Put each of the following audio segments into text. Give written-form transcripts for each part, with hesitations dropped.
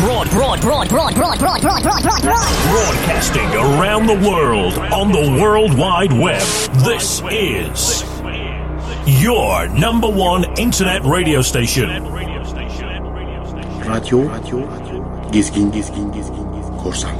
Broadcasting around the world on the World Wide Web. This is your number one internet radio station. Radyo Gezgin Korsan.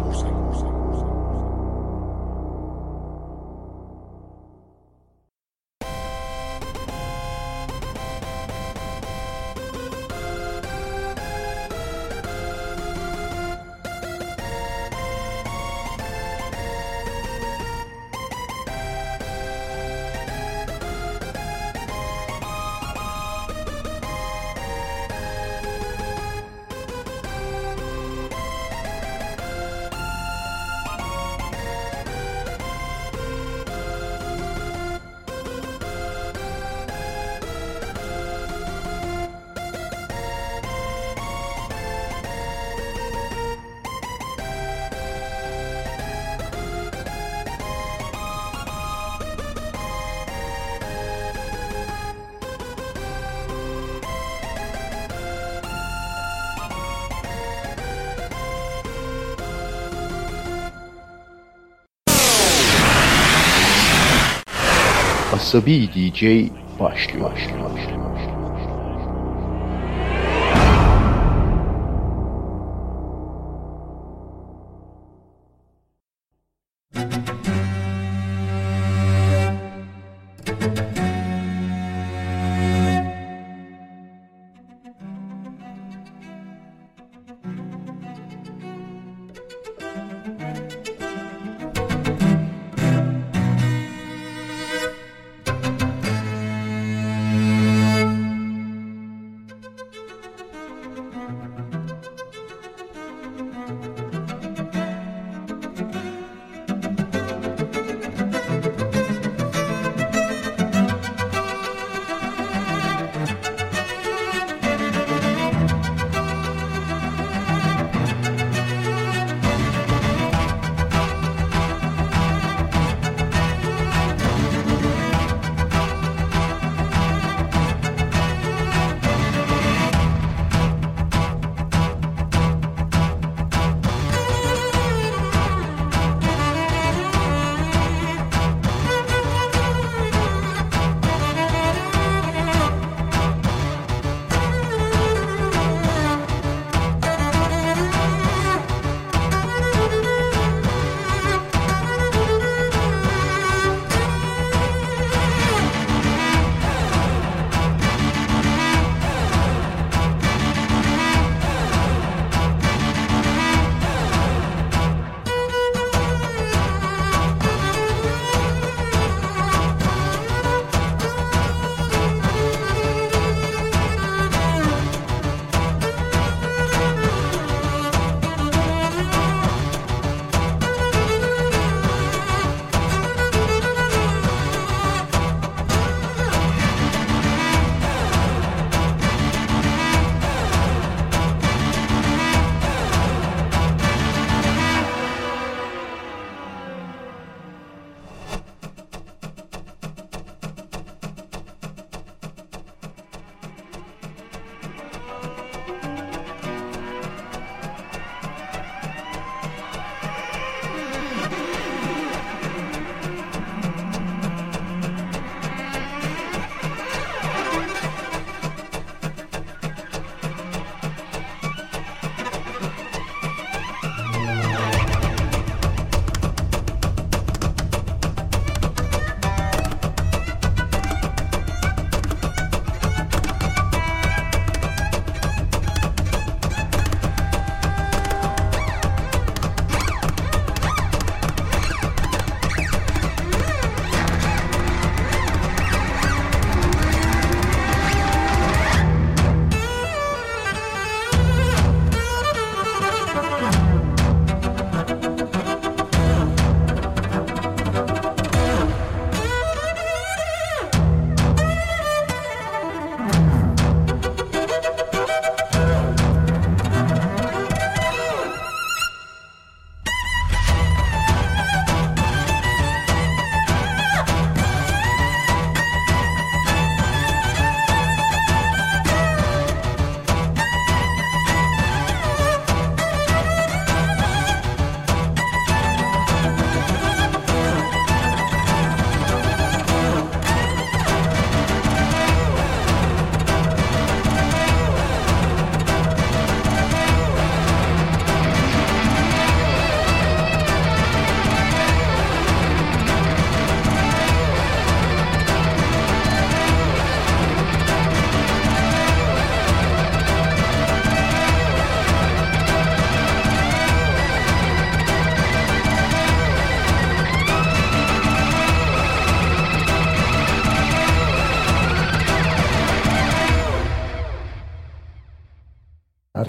Asabi DJ başlıyor.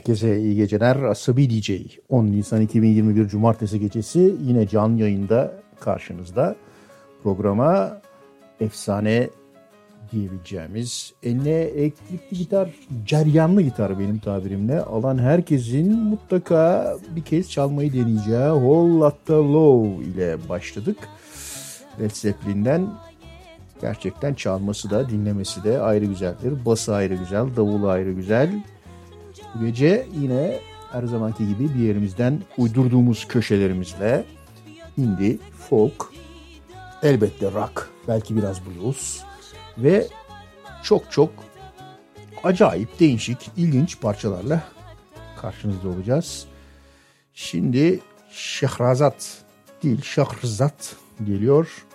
Herkese iyi geceler. Asabi DJ 10 Nisan 2021 Cumartesi gecesi yine canlı yayında karşınızda. Programa efsane diyebileceğimiz, eline elektrikli gitar, ceryanlı gitar benim tabirimle alan herkesin mutlaka bir kez çalmayı deneyeceği Whole Lotta Love ile başladık. Led Zeppelin'den gerçekten çalması da dinlemesi de ayrı güzeldir. Bası ayrı güzel, davulu ayrı güzel. Bu gece yine her zamanki gibi bir yerimizden uydurduğumuz köşelerimizle indie, folk, elbette rock, belki biraz blues ve çok acayip, değişik, ilginç parçalarla karşınızda olacağız. Şimdi Şehrazat değil, Şahrzat geliyor.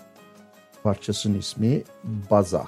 Parçasının ismi Baza.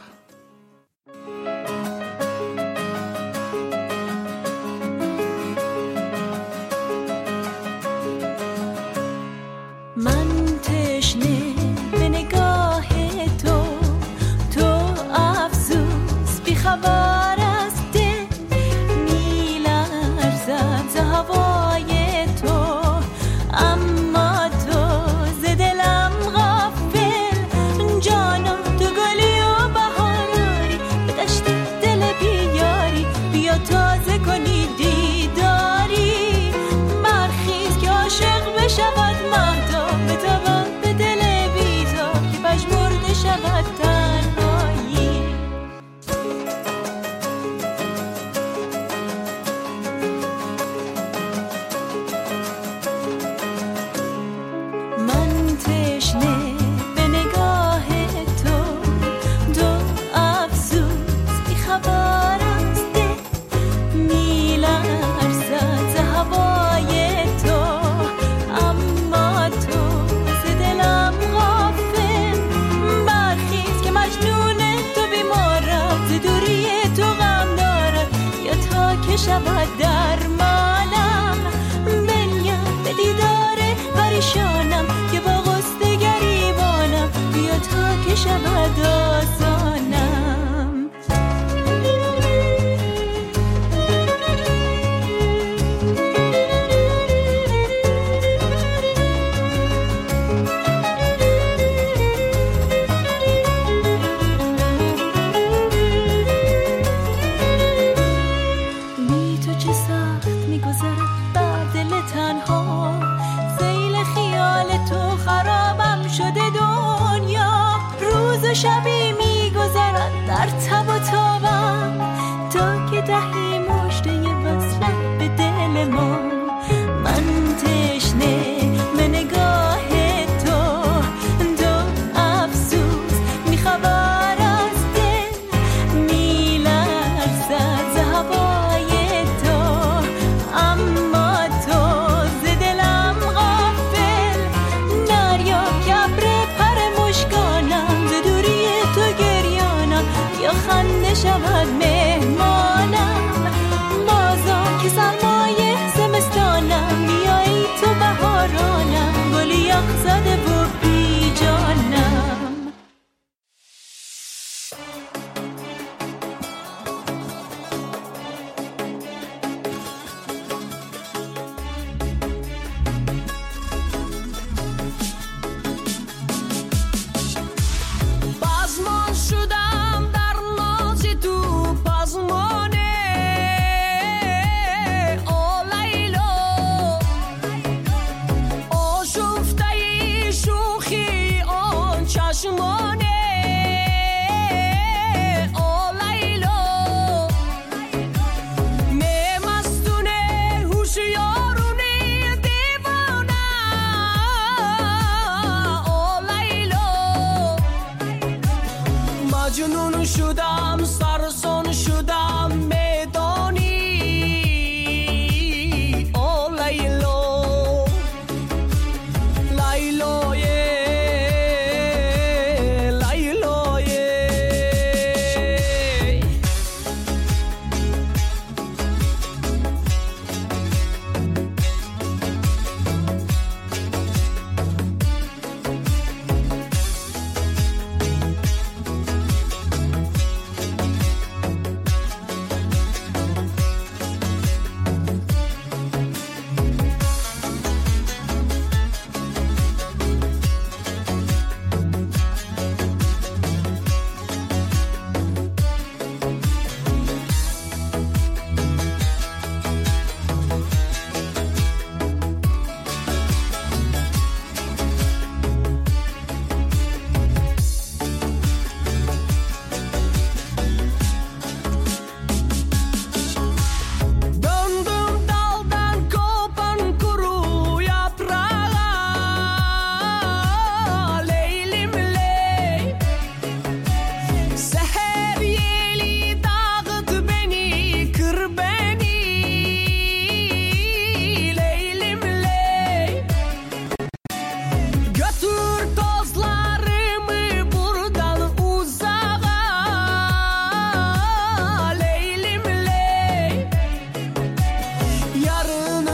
Together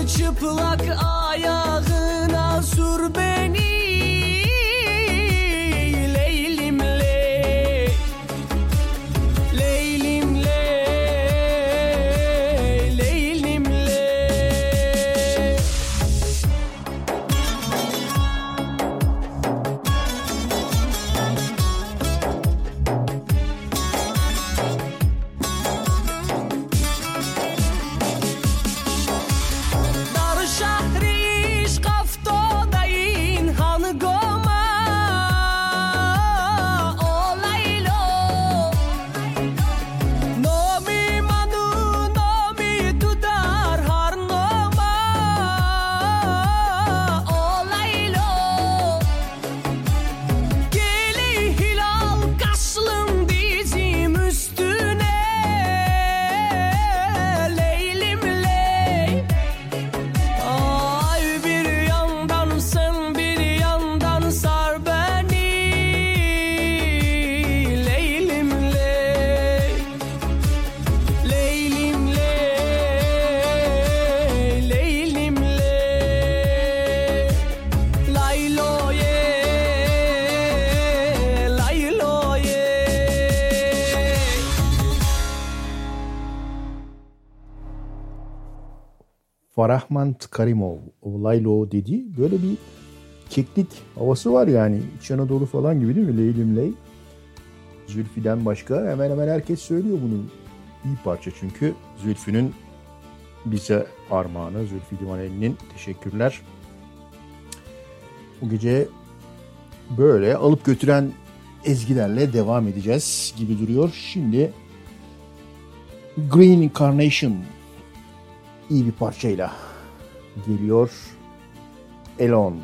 çıplak ayağına sür beni. Leylim ley, leylim ley, leylim ley. Dar şahri şkaftodayin han goma olaylo. Nomi manu nomi tudar har noma olaylo. Geli hilal kaşlım dizim üstüne. Leylim ley. Ay bir yandan sen bir yandan sar beni. Leylim ley, leylim ley, leylim ley. Laylo ye, laylo ye. Farahmand Karimov, Laylo dedi. Böyle bir keklik havası var yani. İç Anadolu falan gibi değil mi? Leylim ley. Zülfü'den başka hemen hemen herkes söylüyor bunu. İyi parça çünkü. Zülfü'nün bize armağanı. Zülfü Livaneli'nin teşekkürler. Bu gece böyle alıp götüren ezgilerle devam edeceğiz gibi duruyor. Şimdi Green Carnation iyi bir parçayla geliyor. Alone.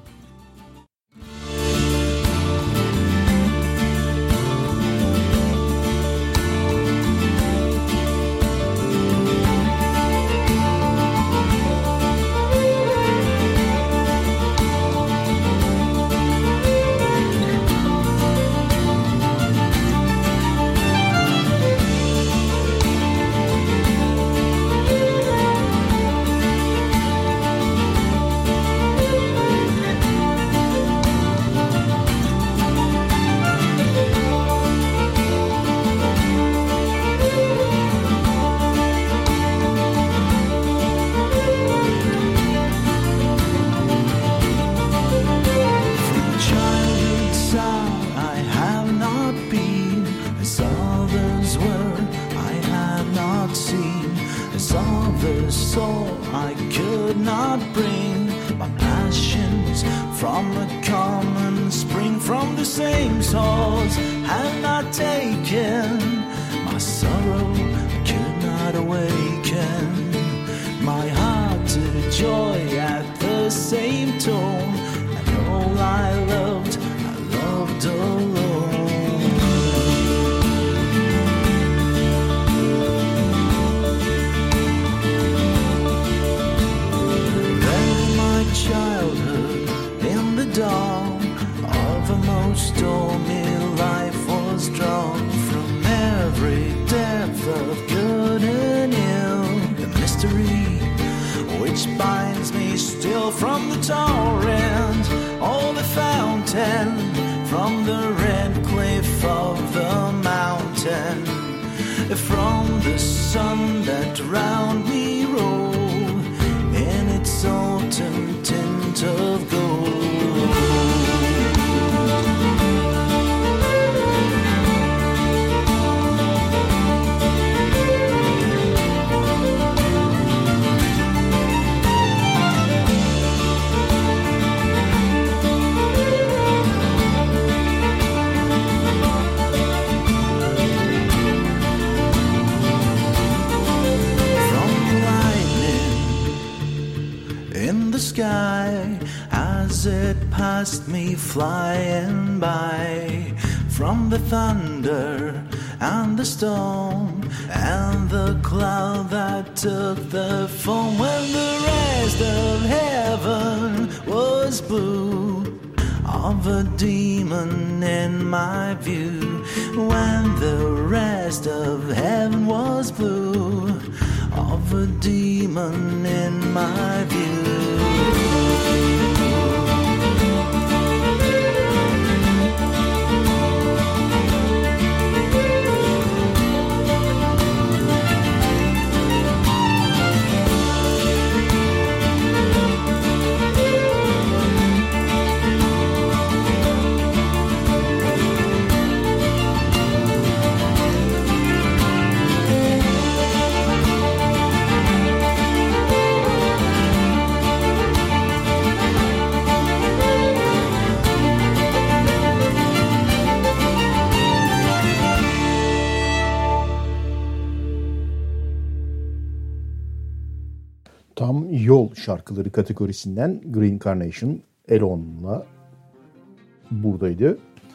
Childhood saw I have not been, as others were I have not seen, as others saw I could not bring. My passions from a common spring, from the same source have not taken. My sorrow could not awaken my heart to joy at the same tone. And all I loved alone. Then my childhood in the dawn of a most stormy life was drawn from every depth of good and ill. The mystery which binds me still from the torrent or the fountain, from the red cliff of the mountain, from the sun that round me rolled in its autumn tint of gold. Sky as it passed me flying by, from the thunder and the storm and the cloud that took the form, when the rest of heaven was blue, of a demon in my view, when the rest of heaven was blue, of a demon in my Tam yol şarkıları kategorisinden Green Carnation Elon'la buradaydı.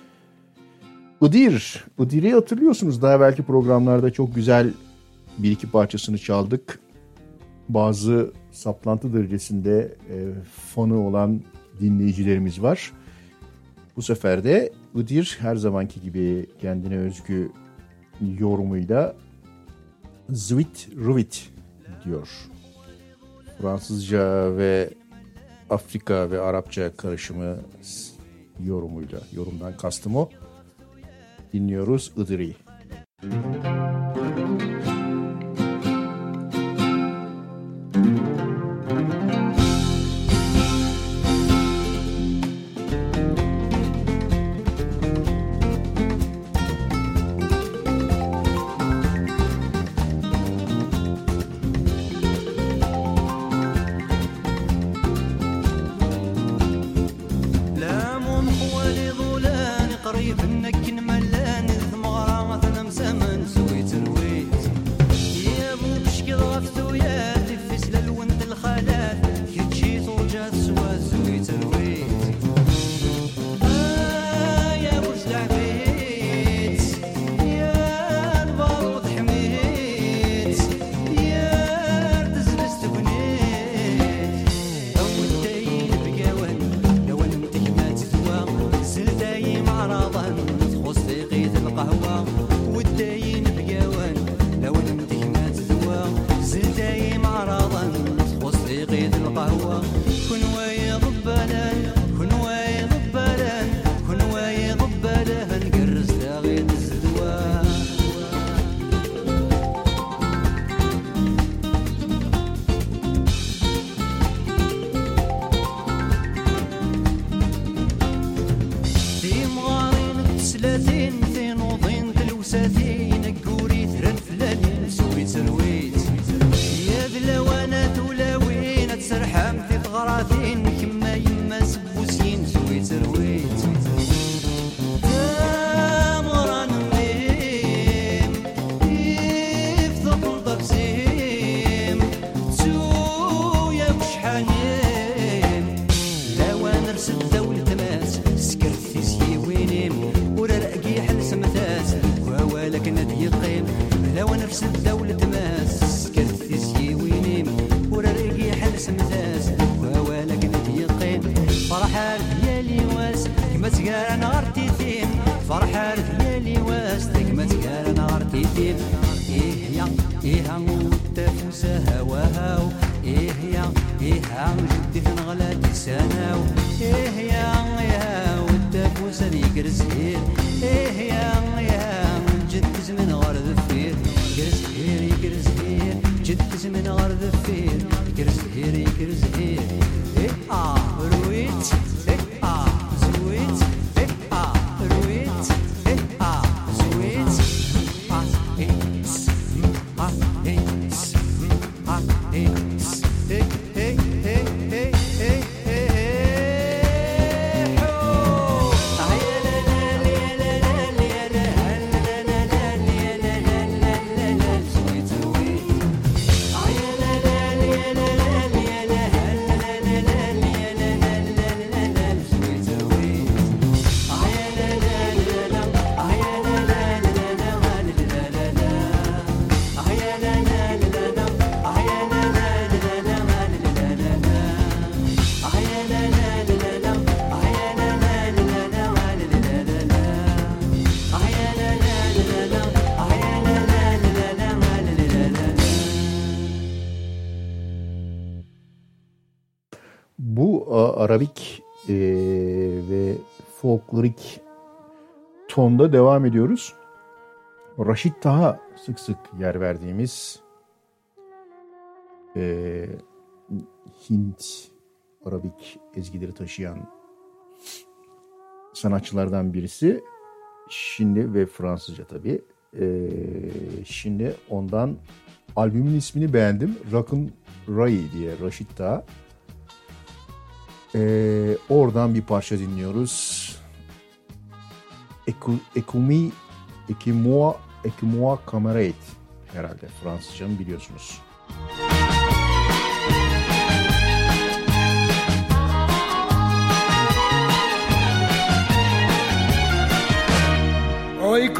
Iğdır'ı hatırlıyorsunuz. Daha belki programlarda çok güzel bir iki parçasını çaldık. Bazı saplantı derecesinde fanı olan dinleyicilerimiz var. Bu sefer de Iğdır her zamanki gibi kendine özgü yorumuyla Zwit Ruvit diyor. Fransızca ve Afrika ve Arapça karışımı yorumuyla. Yorumdan kastım o. Dinliyoruz Iğdır'ı. Arabik ve folklorik tonda devam ediyoruz. Raşit Taha sık sık yer verdiğimiz Hint Arabik ezgileri taşıyan sanatçılardan birisi. Şimdi ve Fransızca tabii. Şimdi ondan albümün ismini beğendim. Rock'n Ray diye Raşit Taha. Oradan bir parça dinliyoruz. Ekimua Camarade herhalde Fransızcanı biliyorsunuz.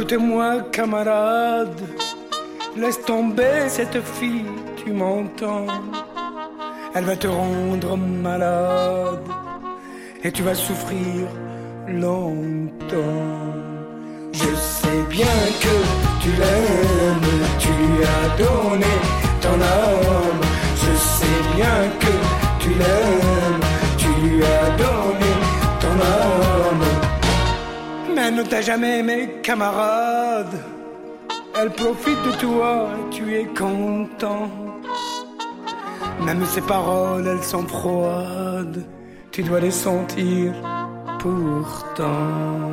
Écoute-moi, camarade, laisse tomber cette fille, tu m'entends? Elle va te rendre malade et tu vas souffrir longtemps. Je sais bien que tu l'aimes, tu lui as donné ton âme. Je sais bien que tu l'aimes, tu lui as donné ton âme. Mais elle ne t'a jamais aimé, camarade. Elle profite de toi, tu es content. Même ses paroles, elles sont froides. Tu dois les sentir pourtant.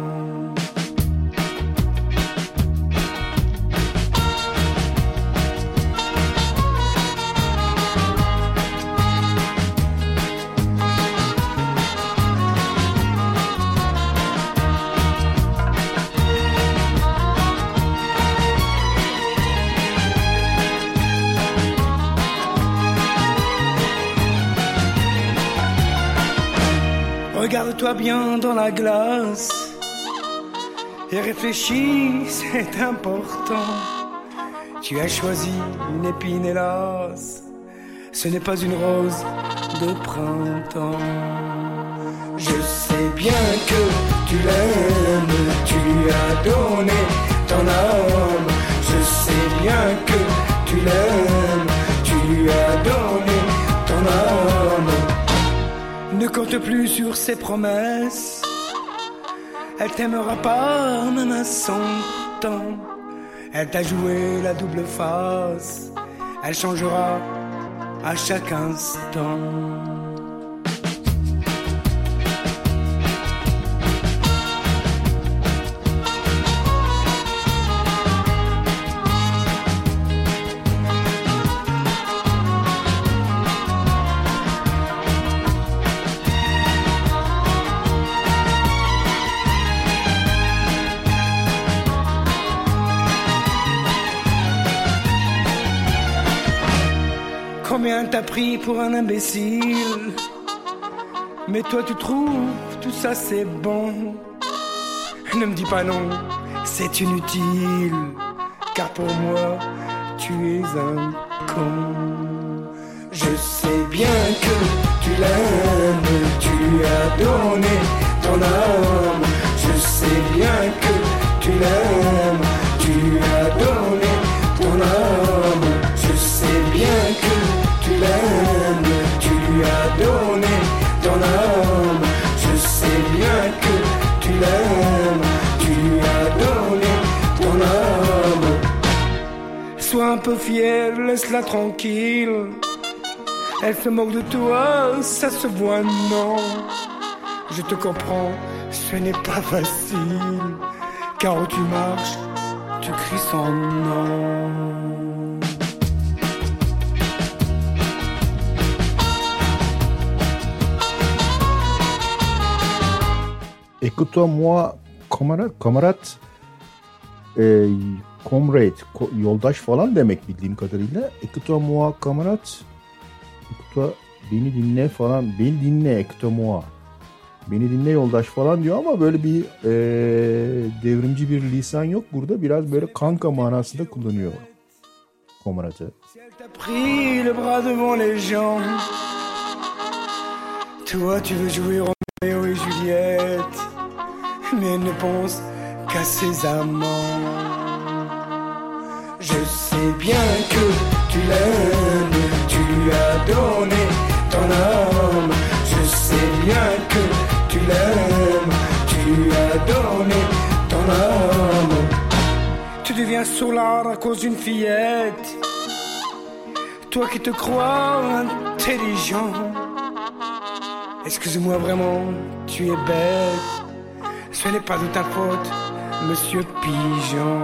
Regarde-toi bien dans la glace et réfléchis, c'est important. Tu as choisi une épine, hélas, ce n'est pas une rose de printemps. Je sais bien que tu l'aimes, tu lui as donné ton âme. Je sais bien que tu l'aimes, tu lui as donné ton âme. Ne compte plus sur ses promesses, elle t'aimera pas même à 100 ans. Elle t'a joué la double face, elle changera à chaque instant. Combien t'as pris pour un imbécile? Mais toi tu trouves tout ça c'est bon. Ne me dis pas non, c'est inutile. Car pour moi tu es un con. Je sais bien que tu l'aimes, tu lui as donné ton âme. Je sais bien que tu l'aimes, tu lui as donné ton âme. Je sais bien que tu l'aimes, tu lui as donné ton âme. Je sais bien que tu l'aimes, tu lui as donné ton âme. Sois un peu fier, laisse-la tranquille. Elle se moque de toi, ça se voit, non. Je te comprends, ce n'est pas facile. Car où tu marches, tu cries son nom. Écoute-moi, kamerat, comrade, yoldaş falan demek bildiğim kadarıyla. Écoute-moi, kamerat, beni dinle falan, beni dinle, écoute-moi. Beni dinle yoldaş falan diyor ama böyle bir devrimci bir lisan yok burada. Biraz böyle kanka manasında kullanıyor kameratı. Pris le bras devant les gens. Toi tu veux jouer Roméo et Juliette, mais elle ne pense qu'à ses amants. Je sais bien que tu l'aimes, tu lui as donné ton âme. Je sais bien que tu l'aimes, tu lui as donné ton âme. Tu deviens sourd à cause d'une fillette, toi qui te crois intelligent. Excuse-moi vraiment, tu es bête. Ce n'est pas de ta faute, monsieur Pigeon.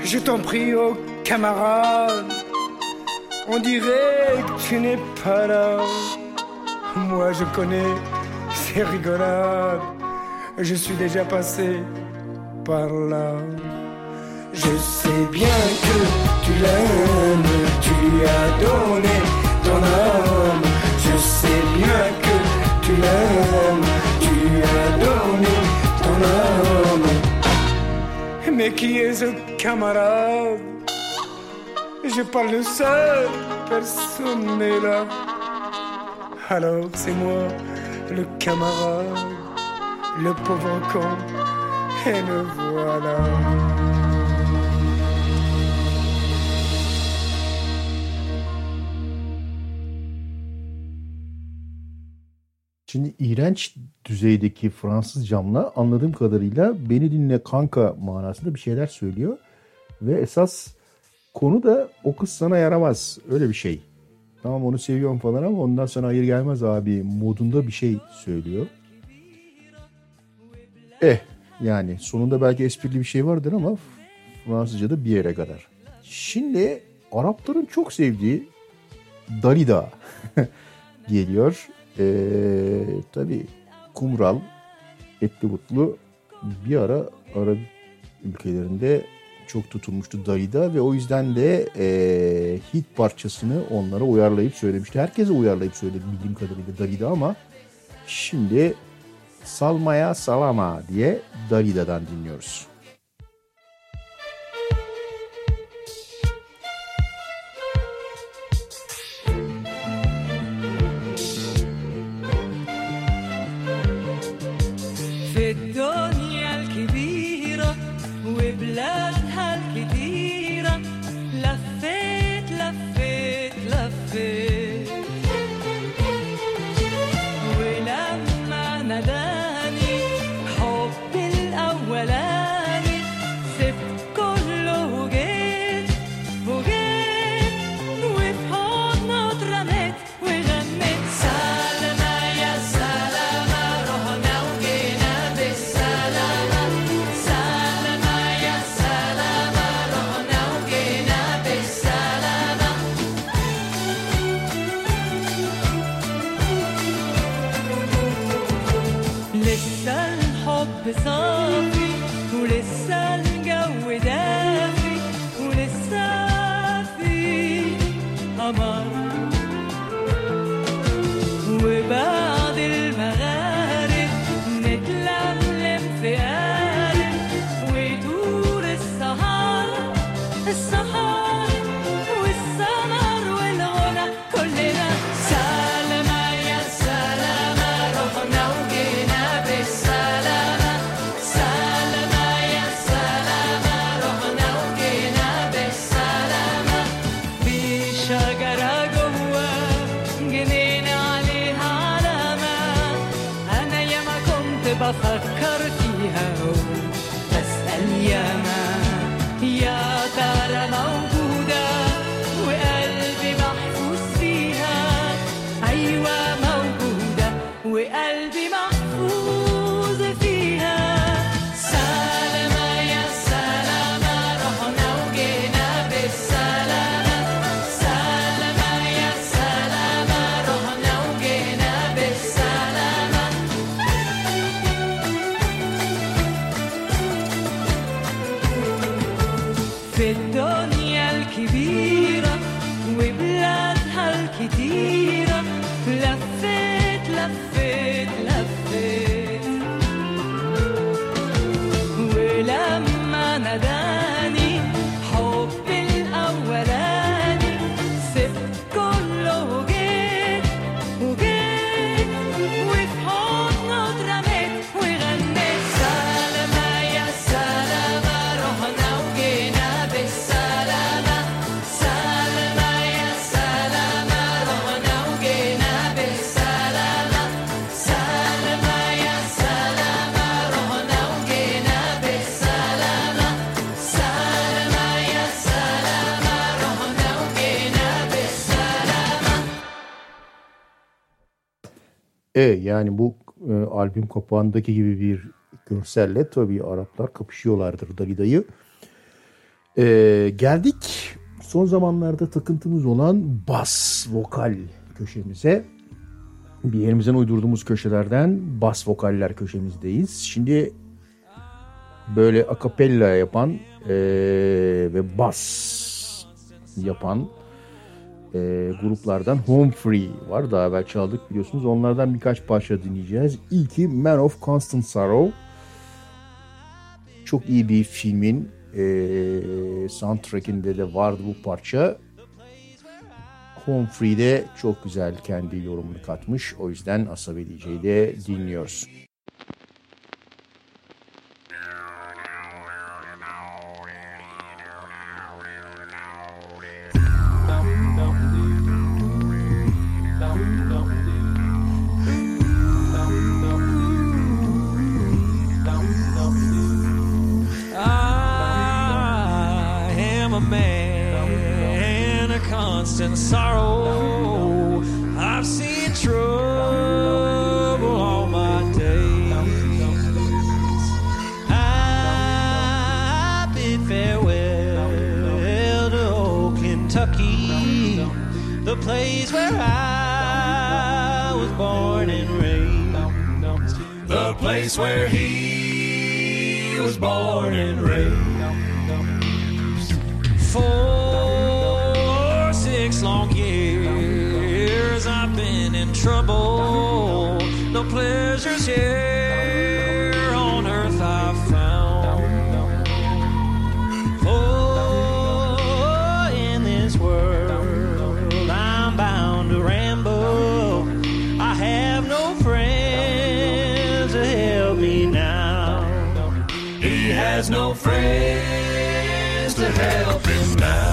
Je t'en prie, oh camarade, on dirait que tu n'es pas là. Moi je connais ces rigolades, je suis déjà passé par là. Je sais bien que tu l'aimes, tu lui as donné ton âme. Je sais bien que tu l'aimes, tu lui as donné ton âme. Mais qui est ce camarade? Je parle seul, personne n'est là. Alors c'est moi, le camarade, le pauvre con, et le voilà. Şimdi iğrenç düzeydeki Fransızcamla anladığım kadarıyla beni dinle kanka manasında bir şeyler söylüyor. Ve esas konu da o kız sana yaramaz. Öyle bir şey. Tamam onu seviyorum falan ama ondan sonra hayır gelmez abi modunda bir şey söylüyor. Yani sonunda belki esprili bir şey vardır ama Fransızca'da bir yere kadar. Şimdi Arapların çok sevdiği Dalida geliyor. Tabii kumral, etli butlu bir ara Arap ülkelerinde çok tutulmuştu Dalida ve o yüzden de hit parçasını onlara uyarlayıp söylemişti. Herkese uyarlayıp söyledi bildiğim kadarıyla Dalida ama şimdi Salmaya Salama diye Dalida'dan dinliyoruz. Yani bu albüm kapağındaki gibi bir görselle tabii Araplar kapışıyorlardır Dalida'yı. Geldik son zamanlarda takıntımız olan bas vokal köşemize. Bir yerimizden uydurduğumuz köşelerden bas vokaller köşemizdeyiz. Şimdi böyle akapella yapan ve bas yapan gruplardan Home Free var. Daha evvel çaldık biliyorsunuz. Onlardan birkaç parça dinleyeceğiz. İlki Man of Constant Sorrow. Çok iyi bir filmin soundtrack'inde de vardı bu parça. Home Free'de çok güzel kendi yorumunu katmış. O yüzden Asabi DJ'de dinliyoruz. And sorrow, I've seen trouble all my days. I bid farewell to old Kentucky, the place where I was born and raised, the place where he was born and raised. 6 long years I've been in trouble. No pleasures here on earth I've found. For in this world I'm bound to ramble. I have no friends to help me now. He has no friends to help him now.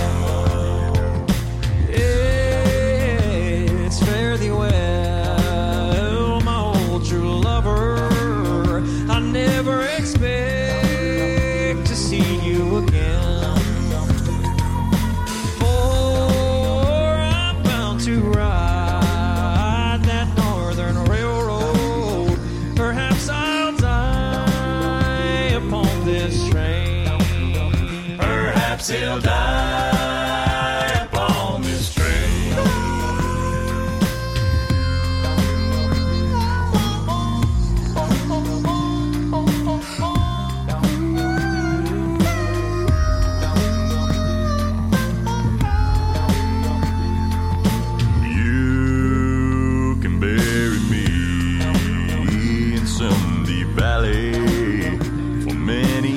He'll die upon this train. You can bury me in some deep valley for many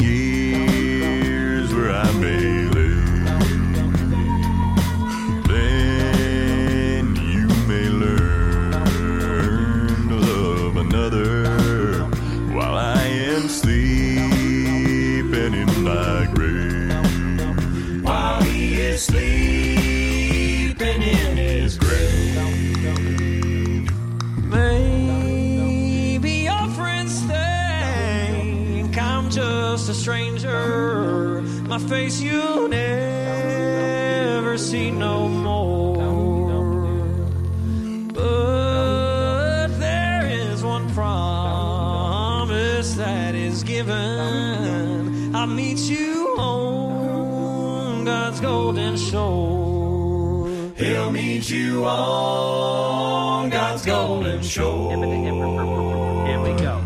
sleeping in his grave. Maybe your friends think I'm just a stranger. My face you'll never see no more. But there is one promise that is given. I'll meet you on God's golden shore. He'll meet you on God's golden shore. Here we go.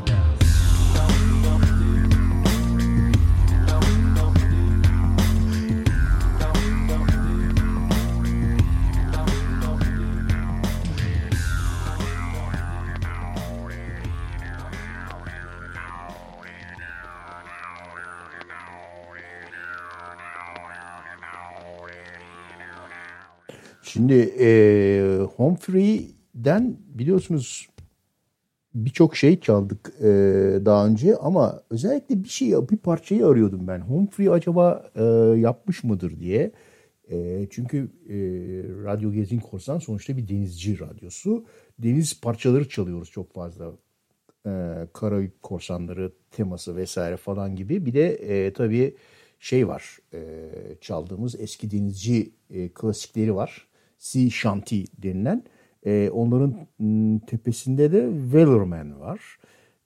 Şimdi Home Free'den biliyorsunuz birçok şey çaldık daha önce ama özellikle bir parçayı arıyordum ben. Home Free acaba yapmış mıdır diye. Çünkü Radyo Gezgin Korsan sonuçta bir denizci radyosu. Deniz parçaları çalıyoruz çok fazla. Karayip korsanları teması vesaire falan gibi. Bir de tabii şey var, çaldığımız eski denizci klasikleri var. Sea Shanty denilen. Onların tepesinde de Wellerman var.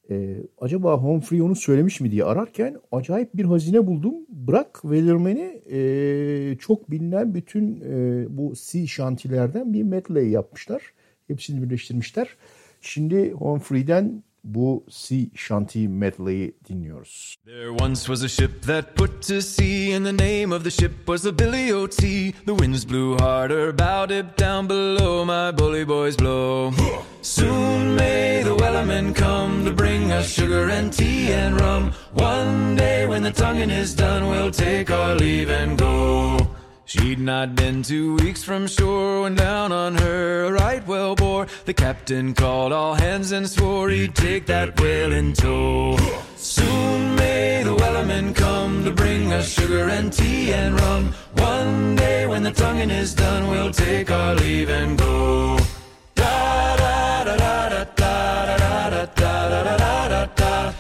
Acaba Humphrey onu söylemiş mi diye ararken acayip bir hazine buldum. Bırak Wellerman'i çok bilinen bütün bu sea shanty'lerden bir medley yapmışlar. Hepsini birleştirmişler. Şimdi Humphrey'den bu sea shanty medley'i dinliyoruz. There once was a ship that put to sea, and the name of the ship was the Billy O.T. The winds blew harder, bowed it down below, my bully boys blow. Soon may the wellerman come to bring us sugar and tea and rum. One day when the tonguing is done, we'll take our leave and go. She'd not been 2 weeks from shore when down on her a right whale bore. The captain called all hands and swore he'd take that whale in tow. Soon may the wellerman come to bring us sugar and tea and rum. One day when the tonguing is done, we'll take our leave and go. Da da da da da da da da da da da da da.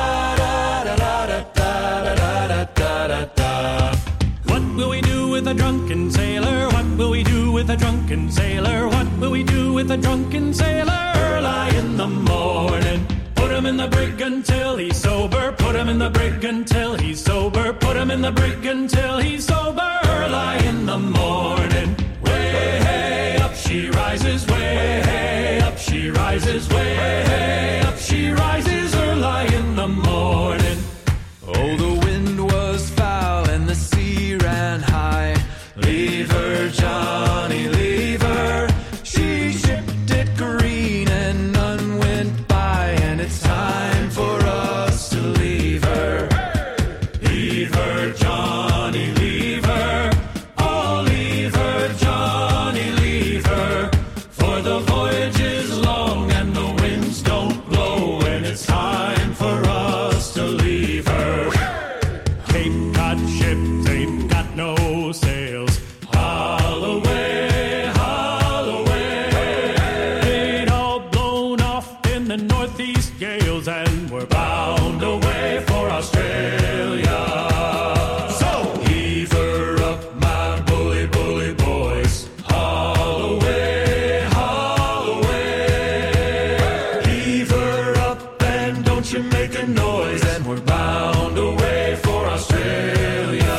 A drunken sailor, what will we do with a drunken sailor? What will we do with a drunken sailor? Early in the morning, put him in the brig until he's sober. Put him in the brig until he's sober. Put him in the brig until he's sober. Early in the morning, way hey up she rises, way hey up she rises, way hey up she rises. Early in the morning. Oh, the wind was foul and the sea ran high. Leave her, Johnny, leave her. She shipped it green and none went by, and it's time for us to leave her. Leave her, Johnny, leave her. Oh, leave her, Johnny, leave her. For the voyage is long and the winds don't blow, and it's time for us to leave her. Cape Cod ships ain't got no sails. Haul away, haul away. They'd all blown off in the northeast gales, and we're bound away for Australia. So heave her up, my bully, bully boys. Haul away, haul away. Heave her up and don't you make a noise, and we're bound away for Australia.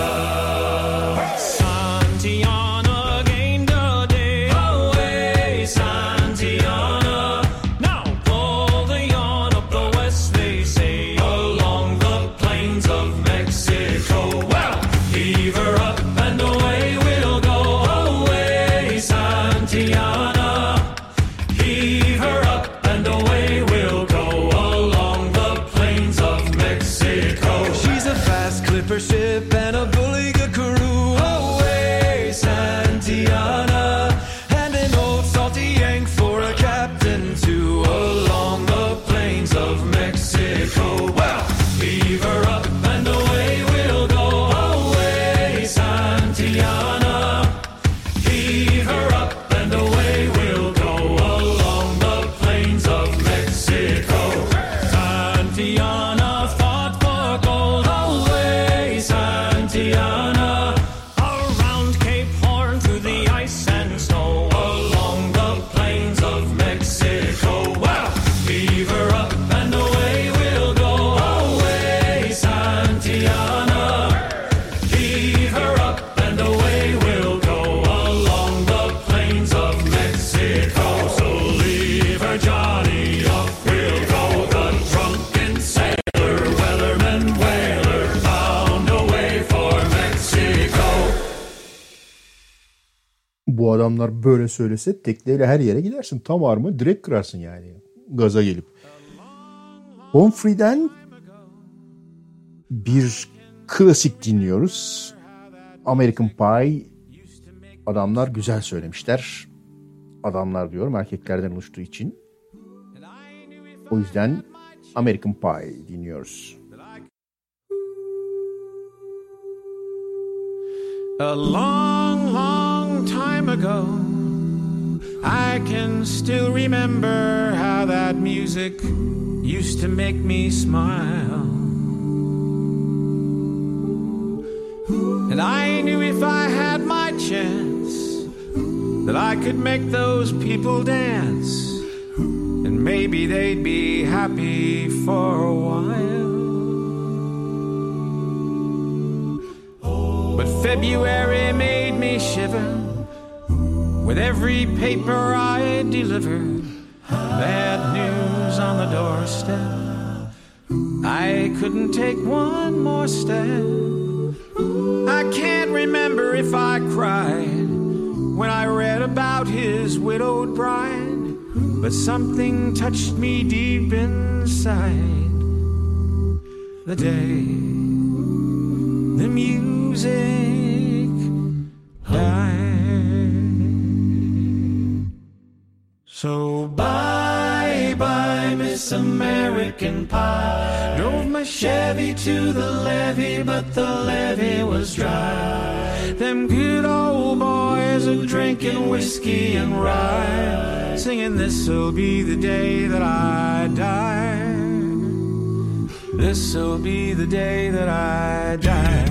Santiana gained a day away, Santiana. Now pull the yarn up the west, they say, along the plains of Mexico. Well, heave her up and away we'll go, away, Santiana. Heave her up and away we'll go, along the plains of Mexico. She's a fast clipper ship and a bully good crew. Away, Santiana. And an old salty yank for a captain too, along the plains of Mexico. Well, leave her up and away we'll go. Away, Santiana. Heave her up and away we'll go, along the plains of Mexico. Santiana fought for gold, away, Santiana. Around Cape Horn through the ice and snow, along the plains of Mexico. Well, leave her up and away we'll go, away, Santiana. Heave her up and away we'll go, along the plains of Mexico. So leave her, Johnny, off we'll go. The drunken sailor, wellerman, whaler, bound away for Mexico. Bu adamlar böyle söylese tekneyle her yere gidersin. Tam armı direkt kırarsın yani. Gaza gelip. Humphrey'den bir klasik dinliyoruz. American Pie. Adamlar güzel söylemişler. Adamlar diyorum erkeklerden oluştuğu için. O yüzden American Pie dinliyoruz. A long, long time ago, I can still remember how that music used to make me smile. And I knew if I had my chance that I could make those people dance and maybe they'd be happy for a while. But February made me shiver with every paper I delivered. Bad news on the doorstep. I couldn't take one more step. I can't remember if I cried when I read about his widowed bride, but something touched me deep inside the day the music died. So bye bye Miss American Pie. Drove my Chevy to the levee, but the levee was dry. Them good old boys are drinking whiskey and rye, singing this'll be the day that I die. This'll be the day that I die.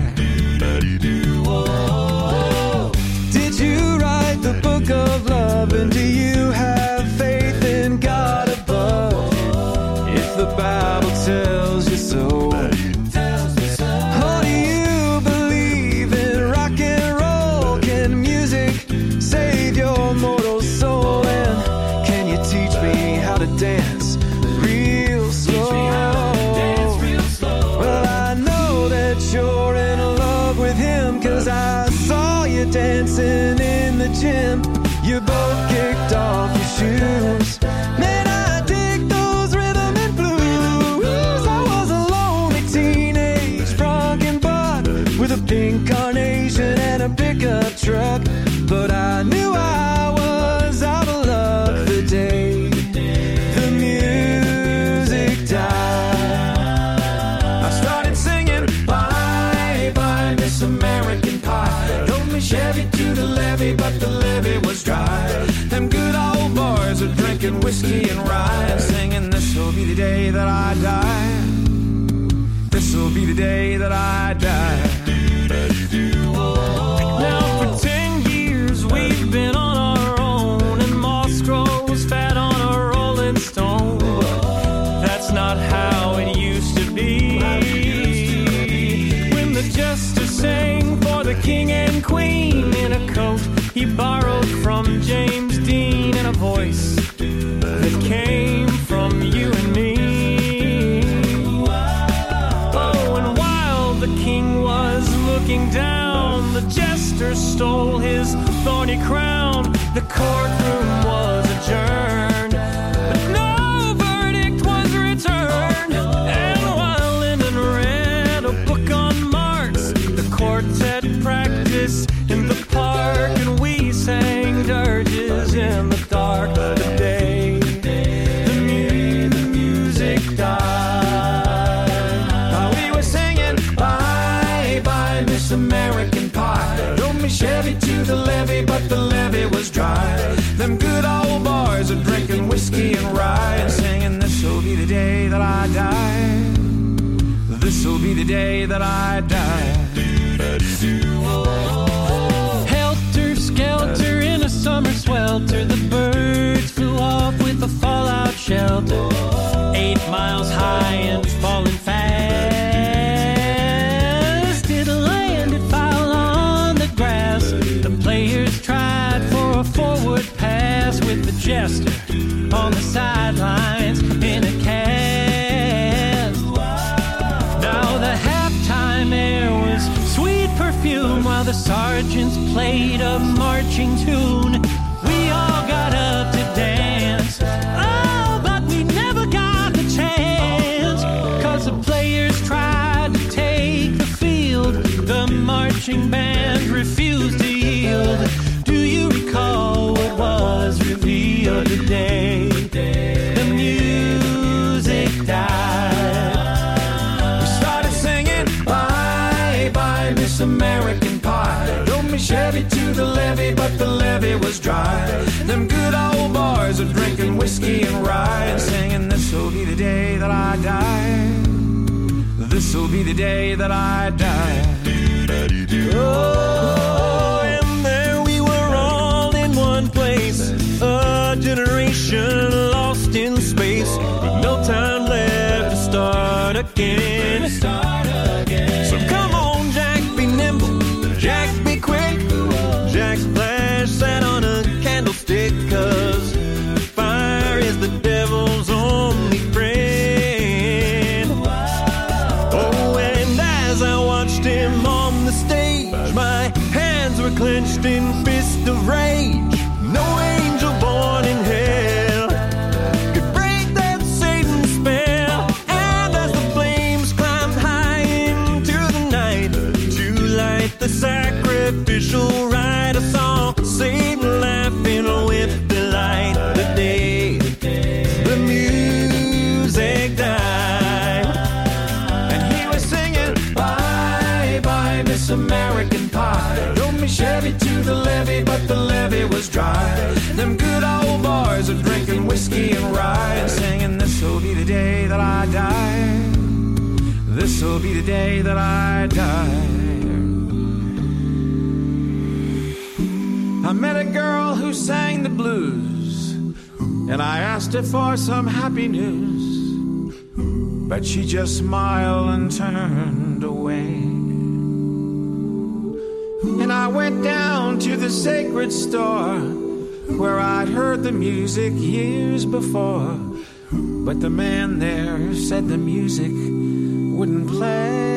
Did you write the book of love, and do you have faith in God above? If the Bible tells you so, or do you believe in rock and roll? Can music save your mortal soul? And can you teach me how to dance real slow? Well, I know that you're in love with him, 'cause I saw you dancing in the gym. You both kicked off your shoes. Man, I dig those rhythm and blues. I was a lonely teenage drunken buck with a pink carnation and a pickup truck, but I knew I was out of luck the day the music died. I started singing bye bye Miss American Pie. Drove me Chevy to the levee, but the levee was dry. Them good old boys are drinking whiskey and rye, singing this'll be the day that I die. This'll be the day that I die. Now for 10 years we've been on our own, and moss grows fat on a rolling stone. But that's not how it used to be. When the jester sang for the king and queen in a coat he borrowed from James Dean, and a voice that came from you and me. Oh, and while the king was looking down, the jester stole his thorny crown. The courtroom was adjourned, but no verdict was returned. And while Lyndon read a book on Marx, the quartet practiced in the park, and we sang dirges in the dark. The day the music died, we were singing bye bye Miss American Pie. Drove me Chevy to the levee, but the levee was dry. Them good old boys are drinking whiskey and rye, and singing this'll be the day that I die. This'll be the day that I die. Helter skelter in a summer swelter, the birds flew off with a fallout shelter. 8 miles high and falling fast. It landed foul on the grass. The players tried for a forward pass, with the jester on the sidelines in a cast. Now the halftime air was sweet perfume, while the sergeants played a marching tune. We all got up to dance, oh, but we never got the chance, 'cause the players tried to take the field. The marching band refused to yield. Do you recall what was revealed today? The music died. We started singing bye bye Miss American Pie. Drove me Chevy to the levee, but the levee was dry. Them good old boys are drinking whiskey and rye, and singing this'll be the day that I die. This'll be the day that I die. Oh, and there we were all in one place, a generation lost in space with no time left to start again. So come on, Jack, be nimble, Jack, be quick. Jack Flash sat on a candlestick, 'cause fire is the devil's only friend. Oh, and as I watched him on the stage, my hands were clenched in fists of rage. No angel born in hell could break that Satan spell. And as the flames climbed high into the night to light the sacrificial rite, I saw Satan laughing with delight. The day the music died, and he was singing, "Bye bye, Miss American Pie. Drove me Chevy to the levee, but the levee was dry. Them good old boys are drinking whiskey and rye and singing, this'll be the day that I die. This'll be the day that I die." I met a girl who sang the blues, and I asked her for some happy news, but she just smiled and turned away. And I went down to the sacred store where I'd heard the music years before, but the man there said the music wouldn't play.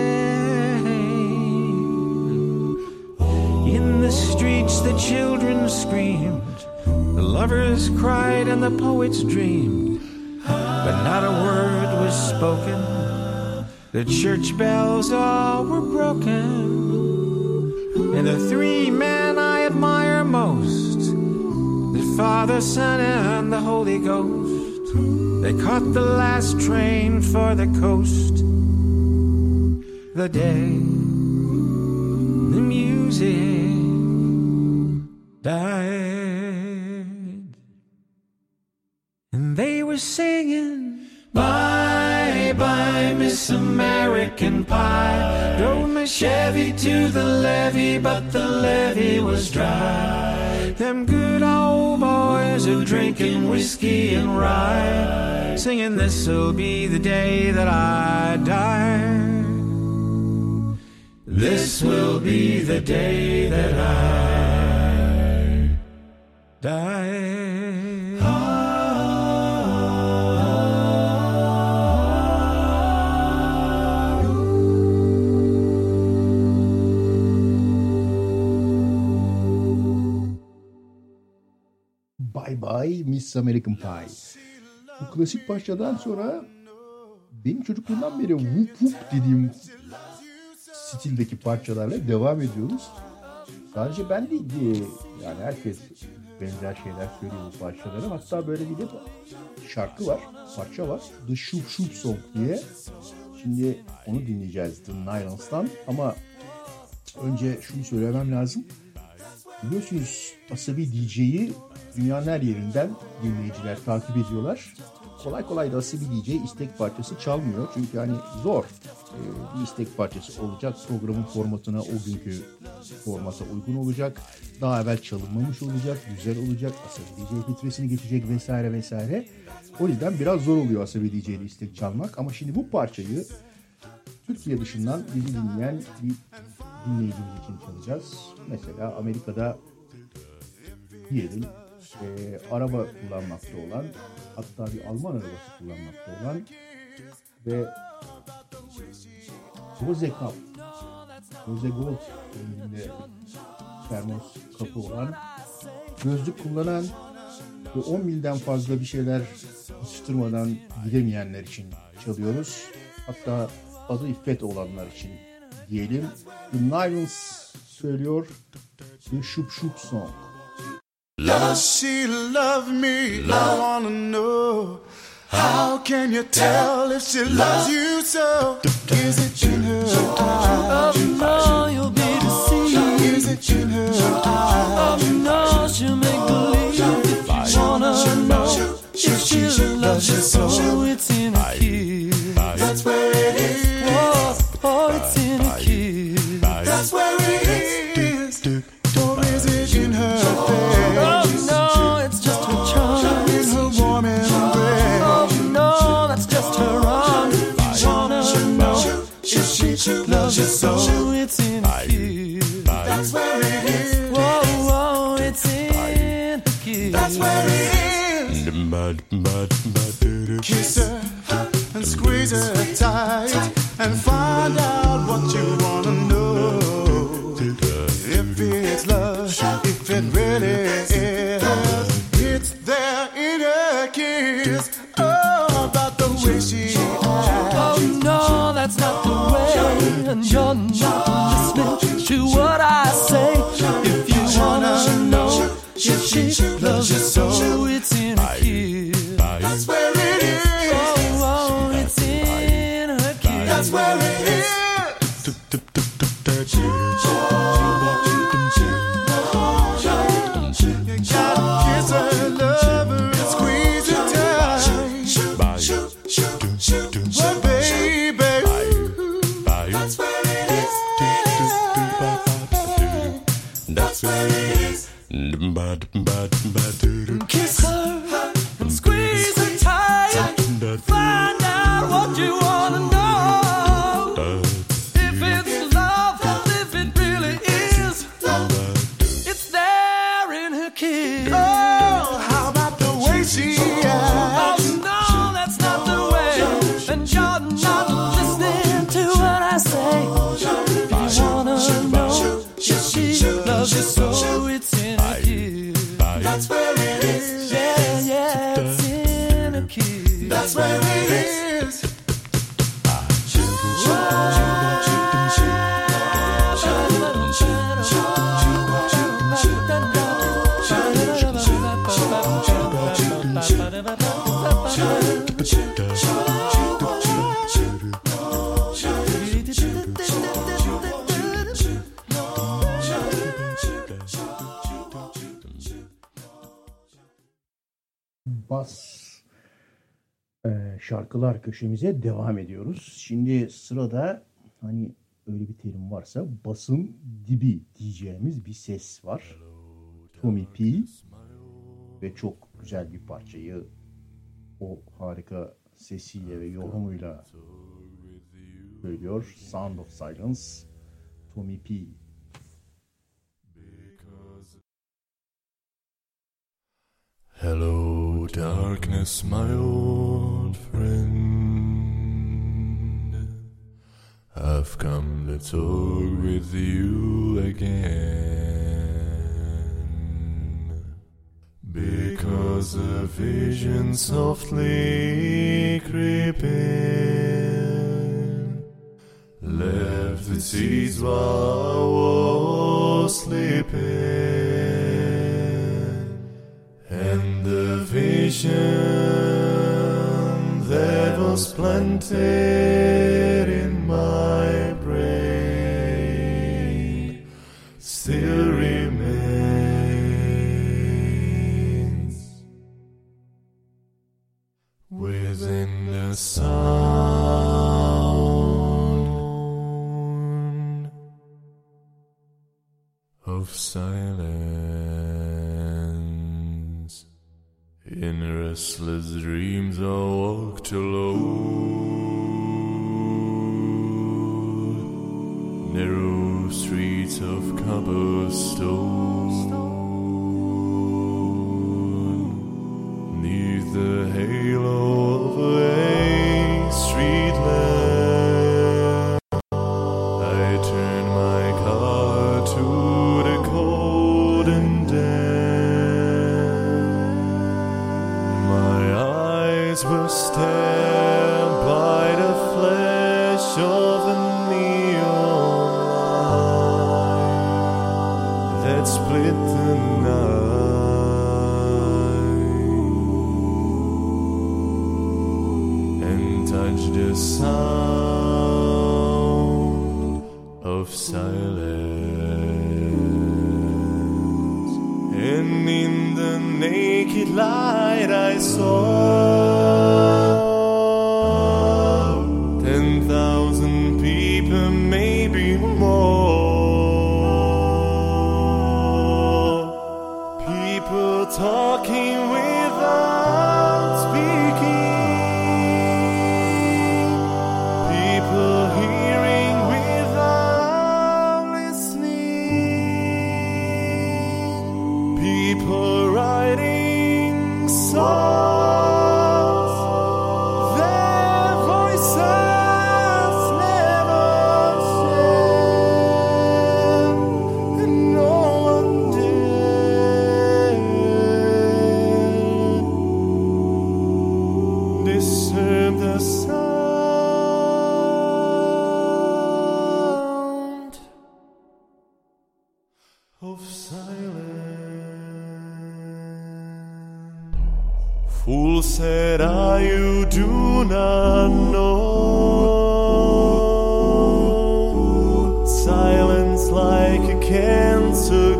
In the streets the children screamed, the lovers cried and the poets dreamed, but not a word was spoken. The church bells all were broken. And the three men I admire most, the Father, Son, and the Holy Ghost, they caught the last train for the coast. The day the music died, and they were singing, "Bye bye, Miss American Pie. Drove my Chevy to the levee, but the levee was dry. Them good old boys are drinking whiskey and rye, singing, this'll be the day that I die. This will be the day that I die." Bye Bye Miss American Pie. Bu klasik parçadan sonra benim çocukluğumdan beri whoop whoop dediğim stildeki parçalarla devam ediyoruz. Sadece ben değil, yani herkes benzer şeyler söylüyor bu parçalara. Hatta böyle bir de şarkı var, parça var. The Shoop Shoop Song diye. Şimdi onu dinleyeceğiz The Nylons'tan. Ama önce şunu söylemem lazım. Biliyorsunuz Asabi DJ'yi dünyanın her yerinden dinleyiciler takip ediyorlar. Kolay kolay da Asabi DJ istek parçası çalmıyor. Çünkü hani zor bir istek parçası olacak. Programın formatına, o günkü formata uygun olacak. Daha evvel çalınmamış olacak, güzel olacak. Asabi DJ filtresini geçecek vesaire vesaire. O yüzden biraz zor oluyor Asabi DJ'de istek çalmak. Ama şimdi bu parçayı Türkiye dışından bizi dinleyen bir dinleyicimiz için çalacağız. Mesela Amerika'da diyelim araba kullanmakta olan, hatta bir Alman arabası kullanmakta olan ve Bose Cup, Bose Gold renginde termos kapı olan, gözlük kullanan ve 10 milden fazla bir şeyler atıştırmadan gidemeyenler için çalıyoruz. Hatta adı İffet olanlar için diyelim. The Nylons söylüyor The Shoop Shoop Song. Does she love me? I wanna know. How can you tell if she loves you so? Is it in her eyes? Oh no, you'll be deceived. Is it in her eyes? Oh no, she'll make believe. If you wanna know if she loves you so, it's in a kiss. That's where it is. Oh, it's in a kiss. That's where it is. Or is it in her face? Oh no, it's just her charm. Kiss her and squeeze her tight and find out what you wanna know. If it's love, if it really is, it's there in her kiss. Oh, about the way she acts. Oh no, that's not the way, and you're not listening to what I say. If you wanna know if she loves you so, it's in her kiss. That's where it is. Oh, it's in her kiss. That's where it is. You gotta kiss her, love her, and squeeze her tight. Well, baby, that's where it is. That's where it is. Kiss her and squeeze her tight. Find out what you wanna know. If it's love, if it really is, it's there in her kiss. Oh, how about the way she acts? Oh no, that's not the way, and you're not listening to what I say. If you wanna know if she loves you so, it's in her kiss. That's where it is. Yeah, it's in her kiss. That's where it is. Bas şarkılar köşemize devam ediyoruz. Şimdi sırada hani öyle bir terim varsa basın dibi diyeceğimiz bir ses var. Tommy P ve çok güzel bir parçayı o harika sesiyle ve yorumuyla söylüyor. Sound of Silence, Tommy P. Hello, darkness, my old friend. I've come to talk with you again, because a vision softly creeping left its seeds while I was sleeping. And the vision that was planted in my brain still remains within the sound of silence. In restless dreams I walked alone, narrow streets of cobblestone, neath the halo of a street lamp. I turned my car to the cold and were stabbed by the flash of a neon light that split the night and touched the sound of silence. And in the naked light I saw 10,000 people, maybe more. People talking without speaking. People hearing without listening. People writing songs. said I you do not know. Silence like a cancer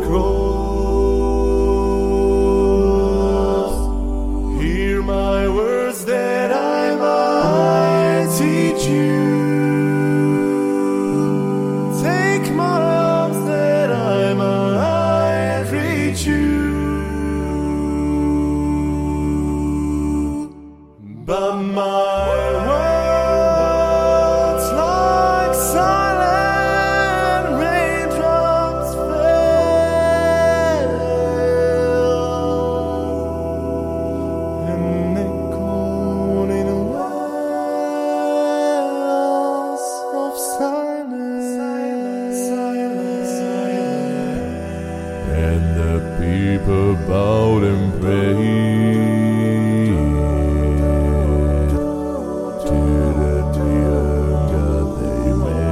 grows. Hear my words that I might teach you. Take my arms that I might reach you. But my words like silent raindrops fell and echoed in wells of silence. And the people bowed and prayed to the neon God they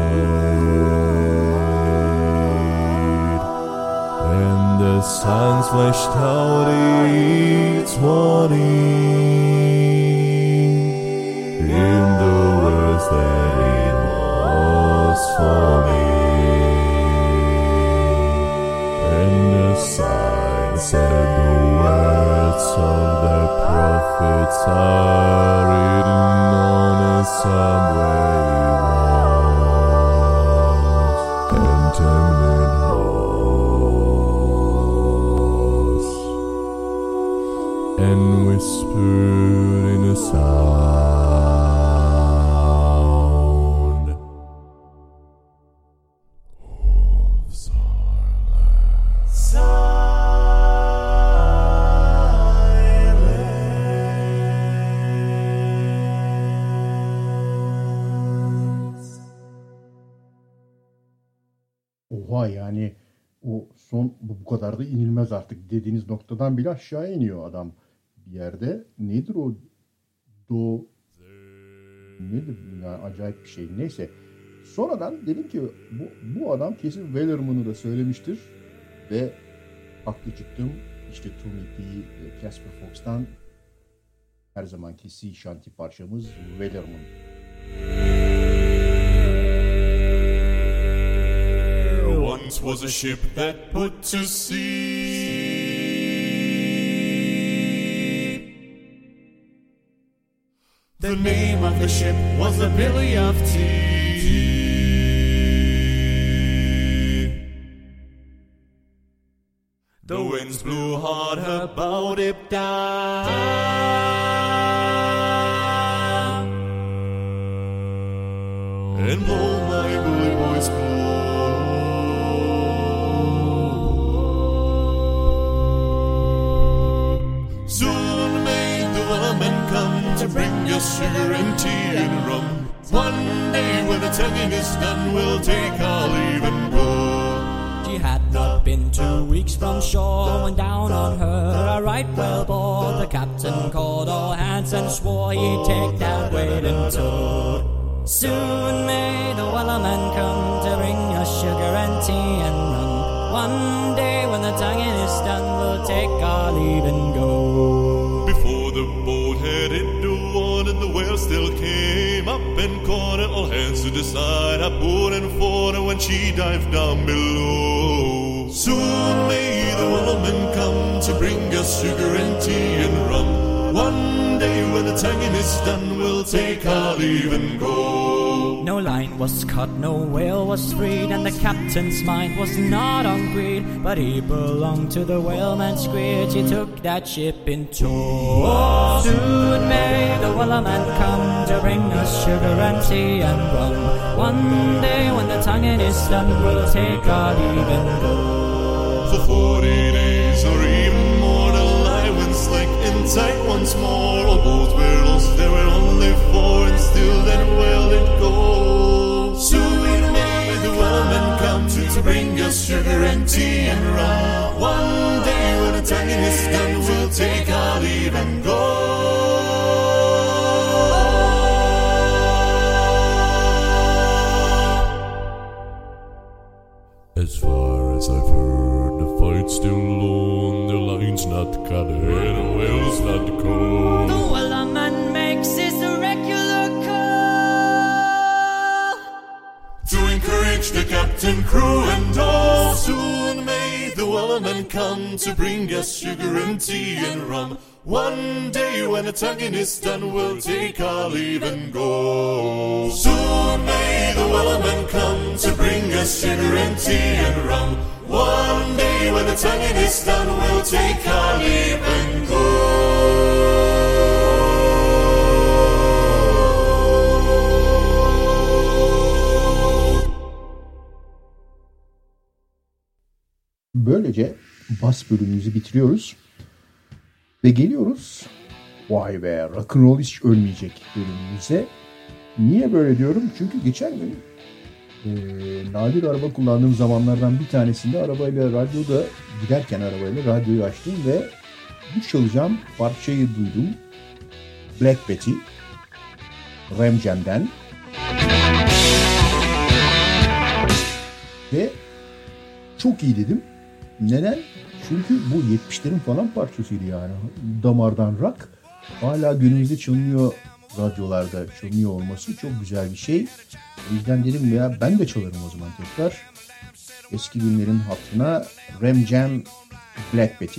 made. And the suns flashed out each morning in the words that it was for me. And the sign said the words of the prophets are written on a subway walls and tenement halls and whispered in a sound of silence. Oha, yani o son bu kadar da inilmez artık dediğiniz noktadan bile aşağı iniyor adam bir yerde. Nedir o do nedir yani, acayip bir şey. Neyse. Sonradan dedim ki bu adam kesin Wellerman'ı da söylemiştir ve haklı çıktım. İşte Tommy P ve Casper Fox'tan her zamanki sea shanty parçamız Wellerman. Once was a ship that put to sea. The name of the ship was the Billy of Tea. The winds blew hard about it down, and blow my bully boys blow. Soon may the woman come to bring us sugar and tea and rum. One day when the tonguing is done, we'll take our leave and go. She had not been 2 weeks from shore when down on her a right whale bore. The captain called all hands and swore he'd take that whale in tow. Soon may the wellerman come to bring us sugar and tea and rum. One day when the tonguing is done, we'll take our leave and go. Before the boat had hit the water, the whale still came up and caught it. All hands to decide a board and fought her when she dived down below. Soon may the wellerman come to bring us sugar and tea and rum. One day when the tonguing is done, we'll take our leave and go. No line was cut, no whale was freed, and the captain's mind was not on greed, but he belonged to the whaleman's greed. He took that ship in tow. Soon may the wellerman come to bring us sugar and tea and rum. One day when the tonguing is done, we'll take our leave and go. For 40 days or even more, the line went slack and tight once more. All boats were lost, there were only 4, and still that whale did go. Soon may the whaleman come to bring us sugar and tea and rum. One day when the tonguing is done, we'll take our leave and go. As far as I've heard, the fight's still on. The line's not cut, and the whale's not cold. The captain, crew, and all. Soon may the wellerman come to bring us sugar and tea and rum. One day when the tugging is done, we'll take our leave and go. Soon may the wellerman come to bring us sugar and tea and rum. One day when the tugging is done, we'll take our leave and go. Böylece bas bölümümüzü bitiriyoruz. Ve geliyoruz. Vay be, rock'n'roll hiç ölmeyecek bölümümüze. Niye böyle diyorum? Çünkü geçen gün nadir araba kullandığım zamanlardan bir tanesinde radyoda giderken arabayla radyoyu açtım ve bu çalacağım parçayı duydum. Black Betty, Ram Jam'den. Ve çok iyi dedim. Neden? Çünkü bu 70'lerin falan parçasıydı yani. Damardan rock. Hala günümüzde çalınıyor, radyolarda çalınıyor olması çok güzel bir şey. O yüzden dedim ya ben de çalarım o zaman tekrar. Eski günlerin hatırına Ram Jam, Black Betty.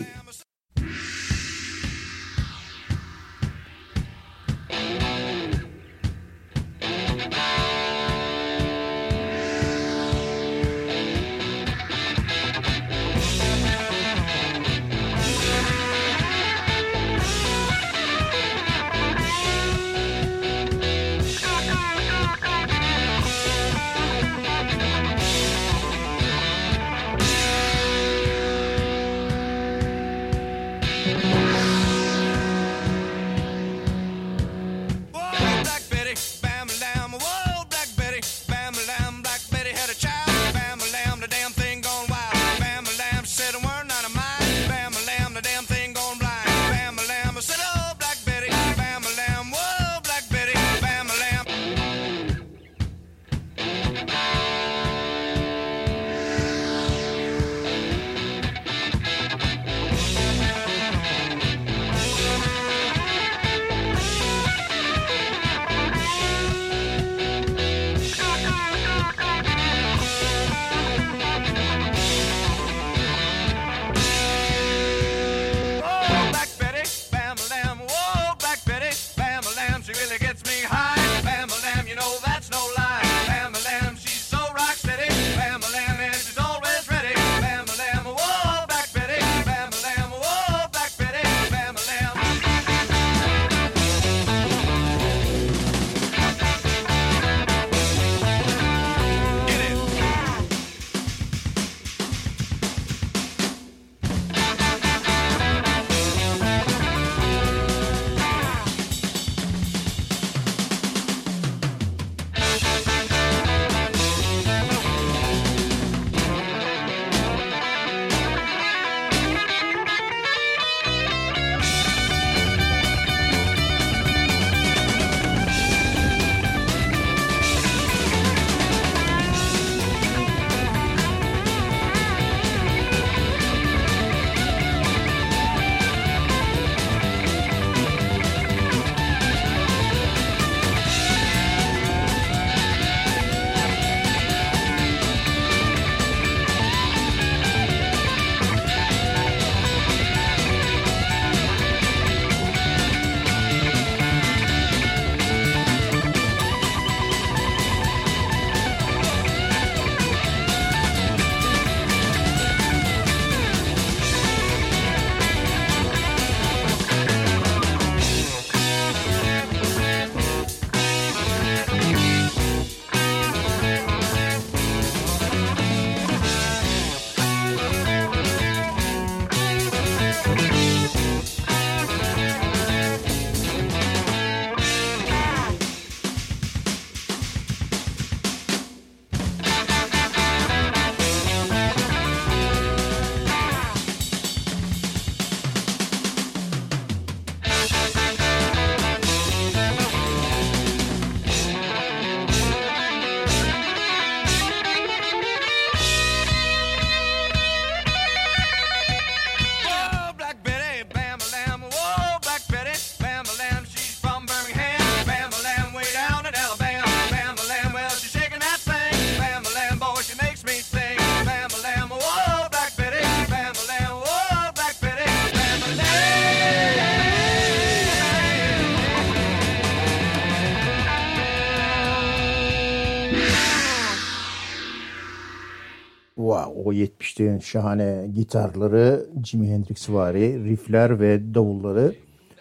Wow, o 70'lerin şahane gitarları, Jimi Hendrix'vari riffler ve davulları.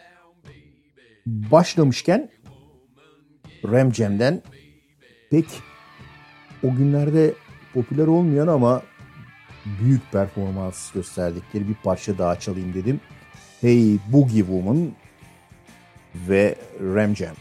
Başlamışken Ram Jam'den pek o günlerde popüler olmayan ama büyük performans gösterdikleri bir parça daha çalayım dedim. Hey Boogie Woman ve Ram Jam.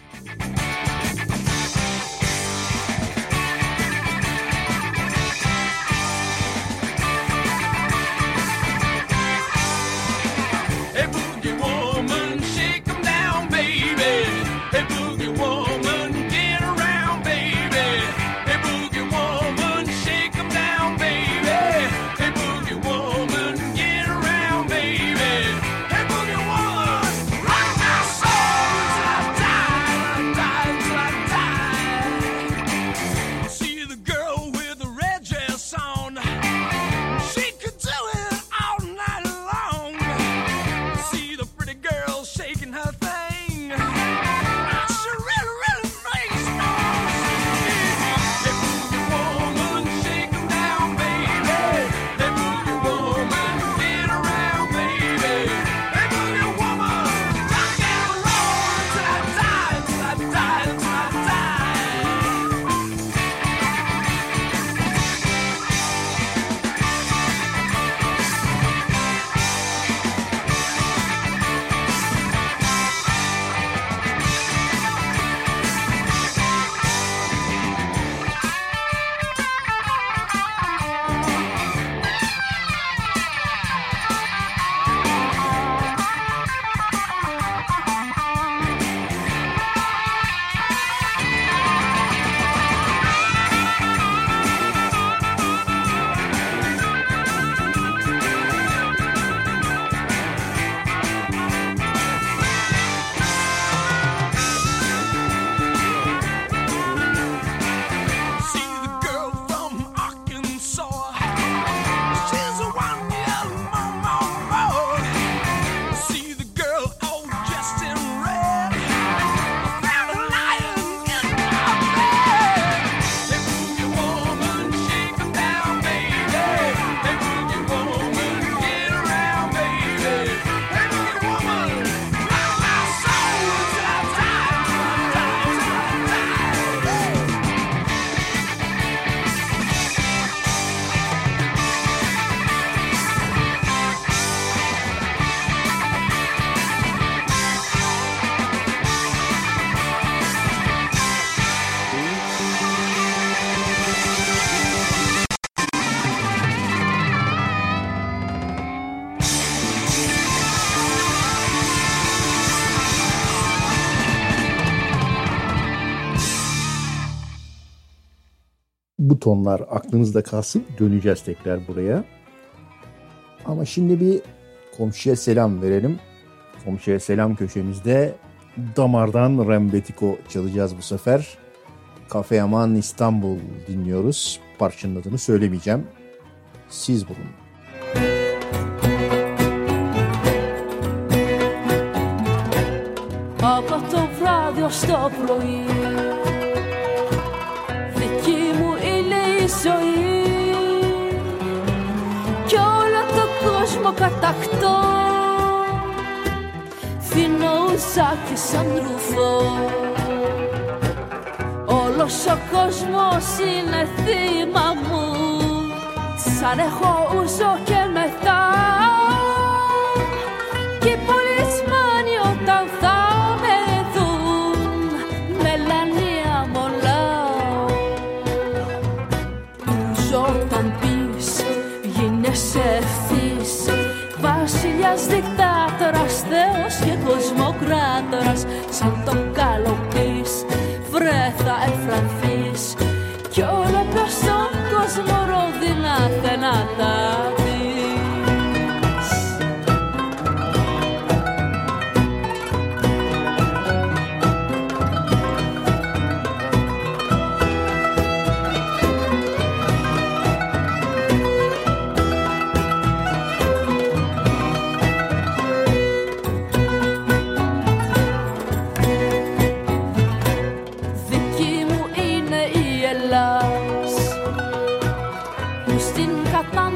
Bu tonlar aklınızda kalsın. Döneceğiz tekrar buraya. Ama şimdi bir komşuya selam verelim. Komşuya selam köşemizde damardan Rembetiko çalacağız bu sefer. Cafe Aman İstanbul dinliyoruz. Parçanın adını söylemeyeceğim. Siz bulun. Από το βράδυ ως το πρωί δική μου είναι η ζωή κι όλο το κόσμο κατακτώ φινό ουζάκι σαν ρουφό όλος ο κόσμος είναι θύμα μου σαν έχω ούζο και μετά και οι πολισμάνοι όταν θα με δουν μελανία μολάω ούζο όταν πεις γίνεσαι ευθύς βασιλιάς δικτάτορας θεός και κοσμοκράτορας σαν το καλοπείς βρε θα εφρανθείς κι όλο προς τον κόσμο ρόδινα θενάτα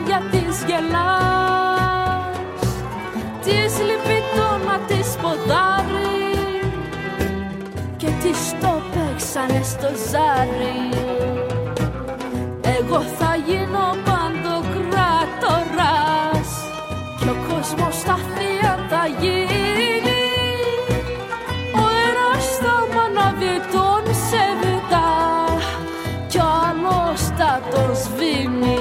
μάτια της γελάς, της λυπεί το να της ποδάρει και της το παίξανε στο ζάρι. Εγώ θα γίνω παντοκράτορας και ο κόσμος στα θεία θα γίνει. Ο ένας θα μ' ανάβει τον σεβητά κι ο άλλος θα τον σβήνει.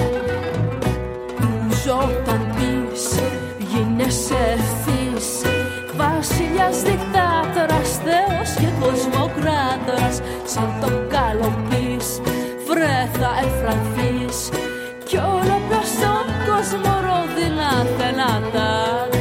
Ζω όταν πεις γίνεσαι ευθύς, βασιλιάς, δικτάτορας, θεός και κοσμοκράτορας. Σαν τον καλοπείς βρε θα εφρανθείς κι όλο προς τον κόσμο ρόδινα να τα δεις.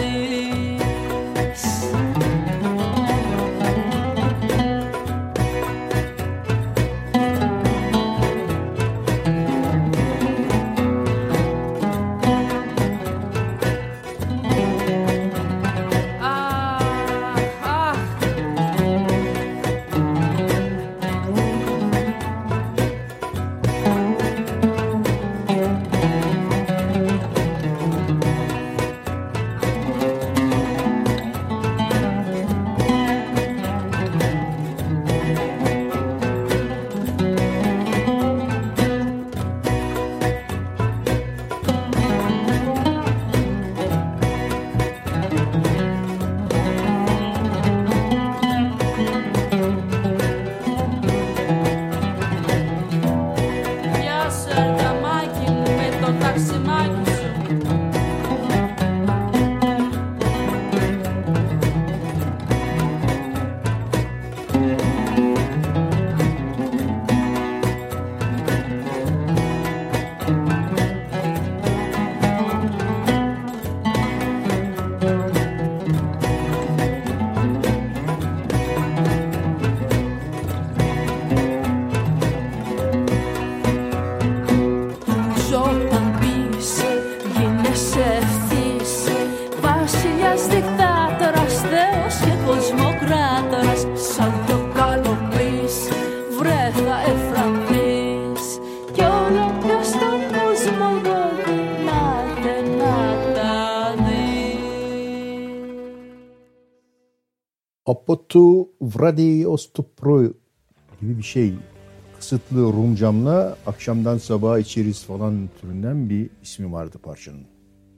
Από το vradi ostopro gibi bir şey. Kısıtlı Rumcamla akşamdan sabaha içeriz falan türünden bir ismi vardı parçanın.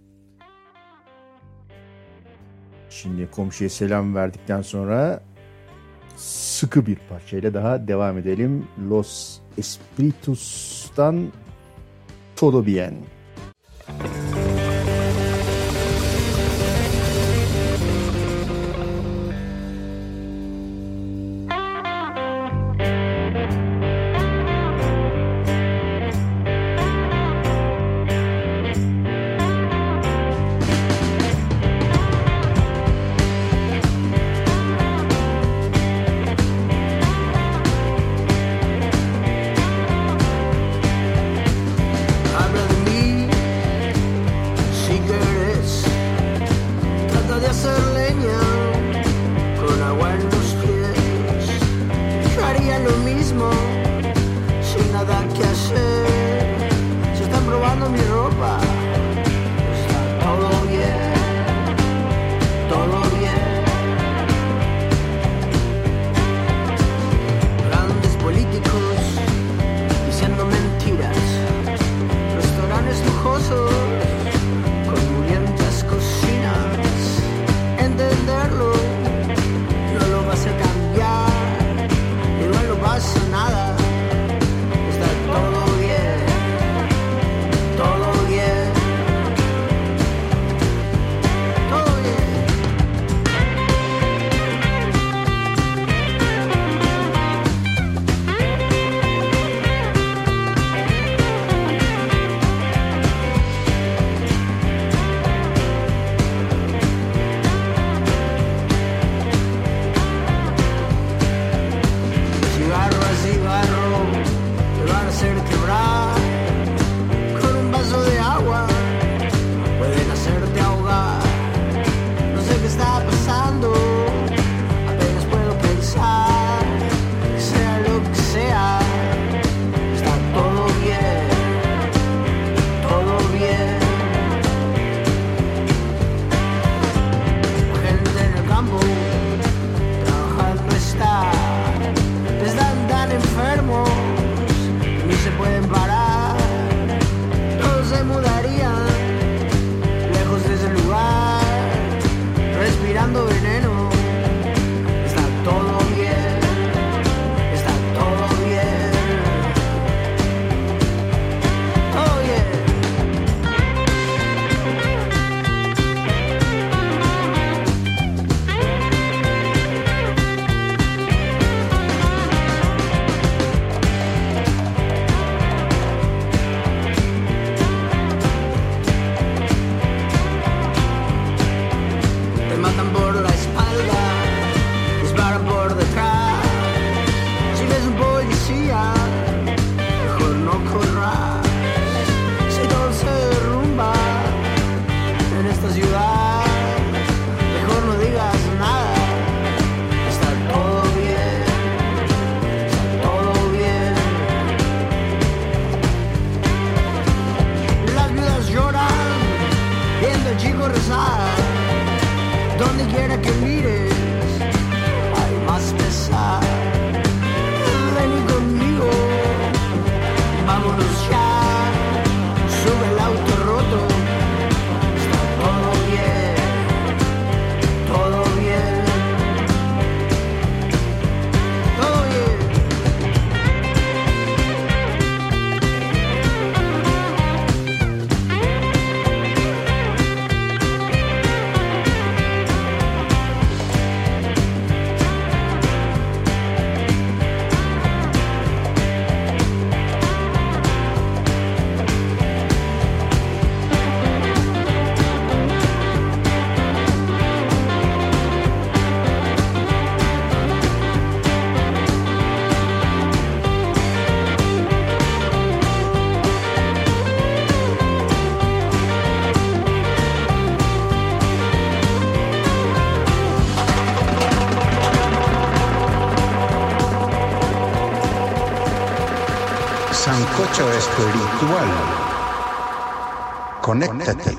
Şimdi komşuya selam verdikten sonra sıkı bir parçayla daha devam edelim. Los Espiritus'tan Todo Bien. Todo bien. pueden parar. Todos se mudarían lejos de ese lugar, respirando veneno. Está todo bien, está todo bien, todo bien. Te matan por la espalda, disparan por detrás. Si ves un policía, mejor no corras. Si todo se derrumba en esta ciudad, mejor no digas nada. Está todo bien, está todo bien. Las viudas lloran viendo al chico rezar. Donde quiera que mires, hay más pesar. Vení conmigo, vámonos ya. Sube el auto roto. Está todo bien, todo bien, todo bien. Sancocho espiritual. Conéctate.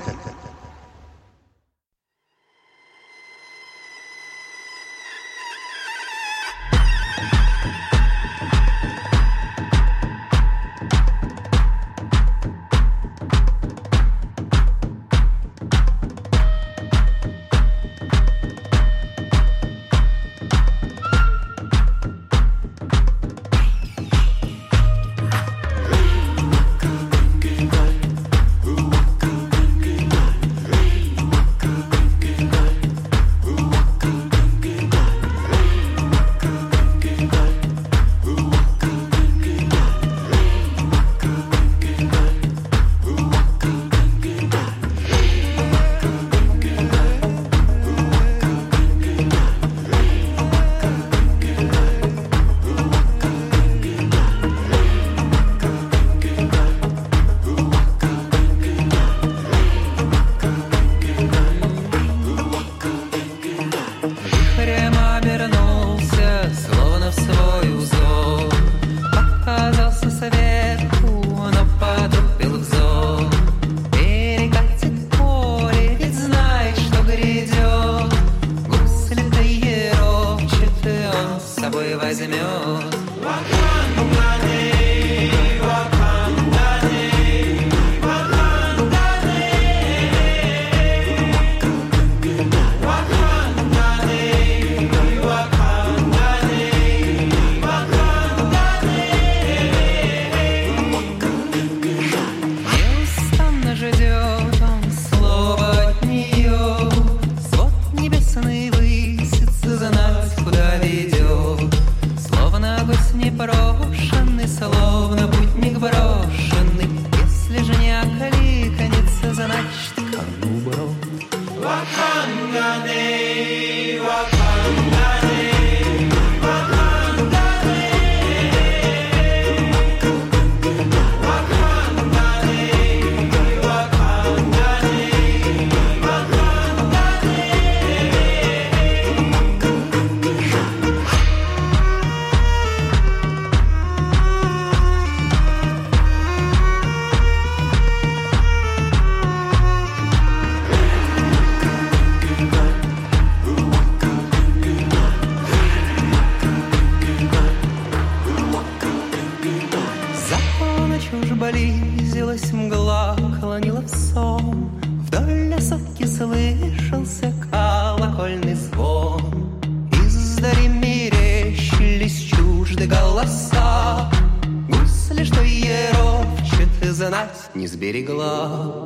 уж близилась мгла, клонила в сон. Вдоль лесовки слышался колокольный звон. Издали мерещились чужды голоса. Гусли, что ерошит, знать не сберегла.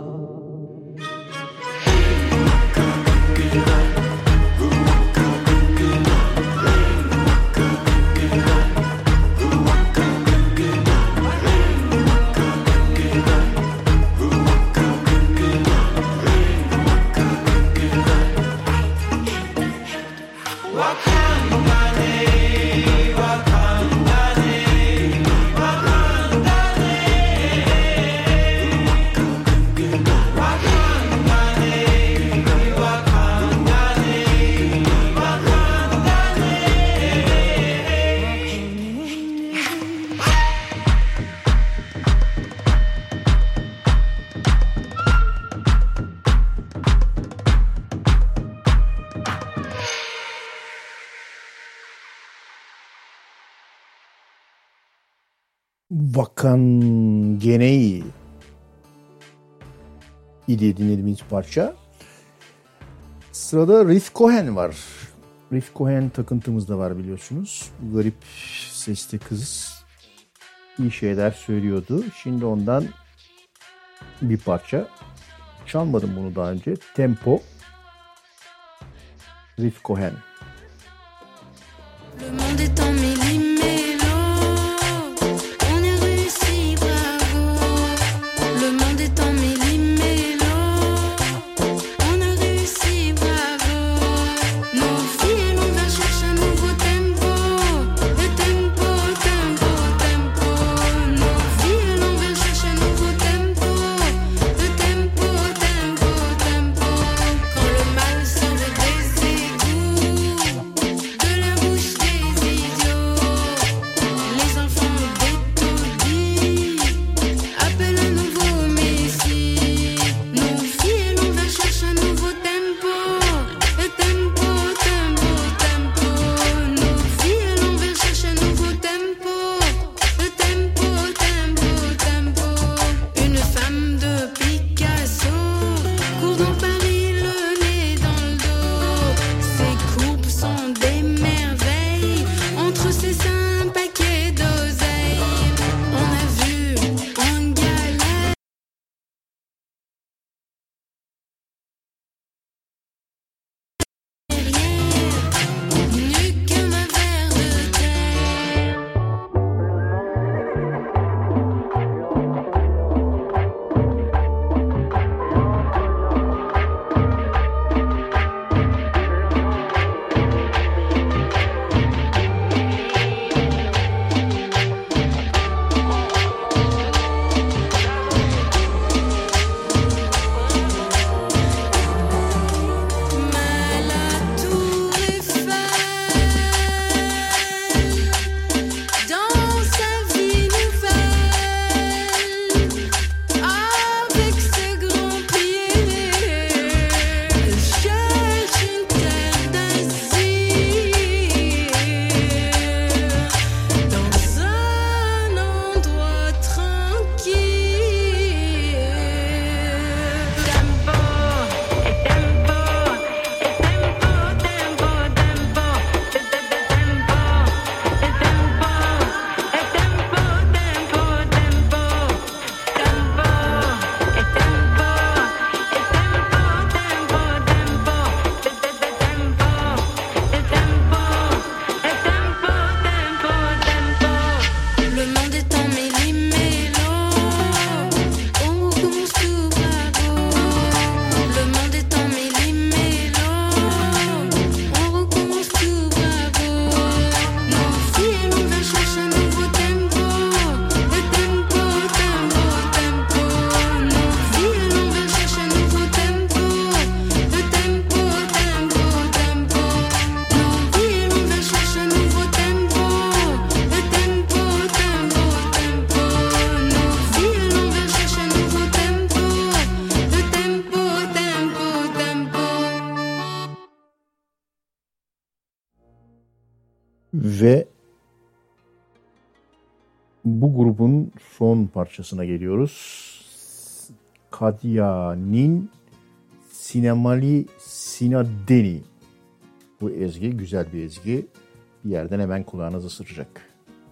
Vakan Genei idi dinlediğimiz parça. Sırada Riff Cohen var. Riff Cohen takıntımız da var biliyorsunuz. Garip sesli kız iyi şeyler söylüyordu. Şimdi ondan bir parça. Çalmadım bunu daha önce. Tempo. Riff Cohen. Le monde est en millimélo, on a réussi, bravo. Le monde est en millimélo, on a réussi, bravo. Nos filles, on va chercher un nouveau tempo. Le tempo, tempo, tempo. Nos filles, on va chercher un nouveau tempo. Le tempo, tempo, tempo. Quand le mal sort des égouts, de la bouche des idiots, les enfants d'étourdis appellent un nouveau messie. Nos filles, on va chercher un nouveau tempo. Le tempo, tempo, tempo. Nos filles, on va chercher un nouveau tempo. Le tempo, tempo, tempo. Une femme de Picasso court dans Paris, le nez dans le dos. Ses courbes sont des merveilles. Entre ses seins, un paquet d'oseille. On a vu en galère nu comme un ver de terre. La tour Eiffel, dans sa vie nouvelle, avec ses grands pieds, cherche une terre d'asile, dans un endroit tranquille. Tempo, tempo, le monde est en millimélo, on recommence tout, bravo. Le monde est en millimélo, on recommence tout, bravo. Nos filles, on va chercher un nouveau tempo. Le tempo, tempo, tempo. Nos filles, on va chercher un nouveau tempo. Le tempo, tempo, tempo. Nos filles, on va chercher un nouveau tempo. Le tempo, tempo, tempo. Nos filles, on va chercher un nouveau tempo. Le tempo, tempo, tempo. Ve Bu grubun son parçasına geliyoruz. Kadya'nın Sinemali Sinadeni. Bu ezgi güzel bir ezgi. Bir yerden hemen kulağınızı ısıracak.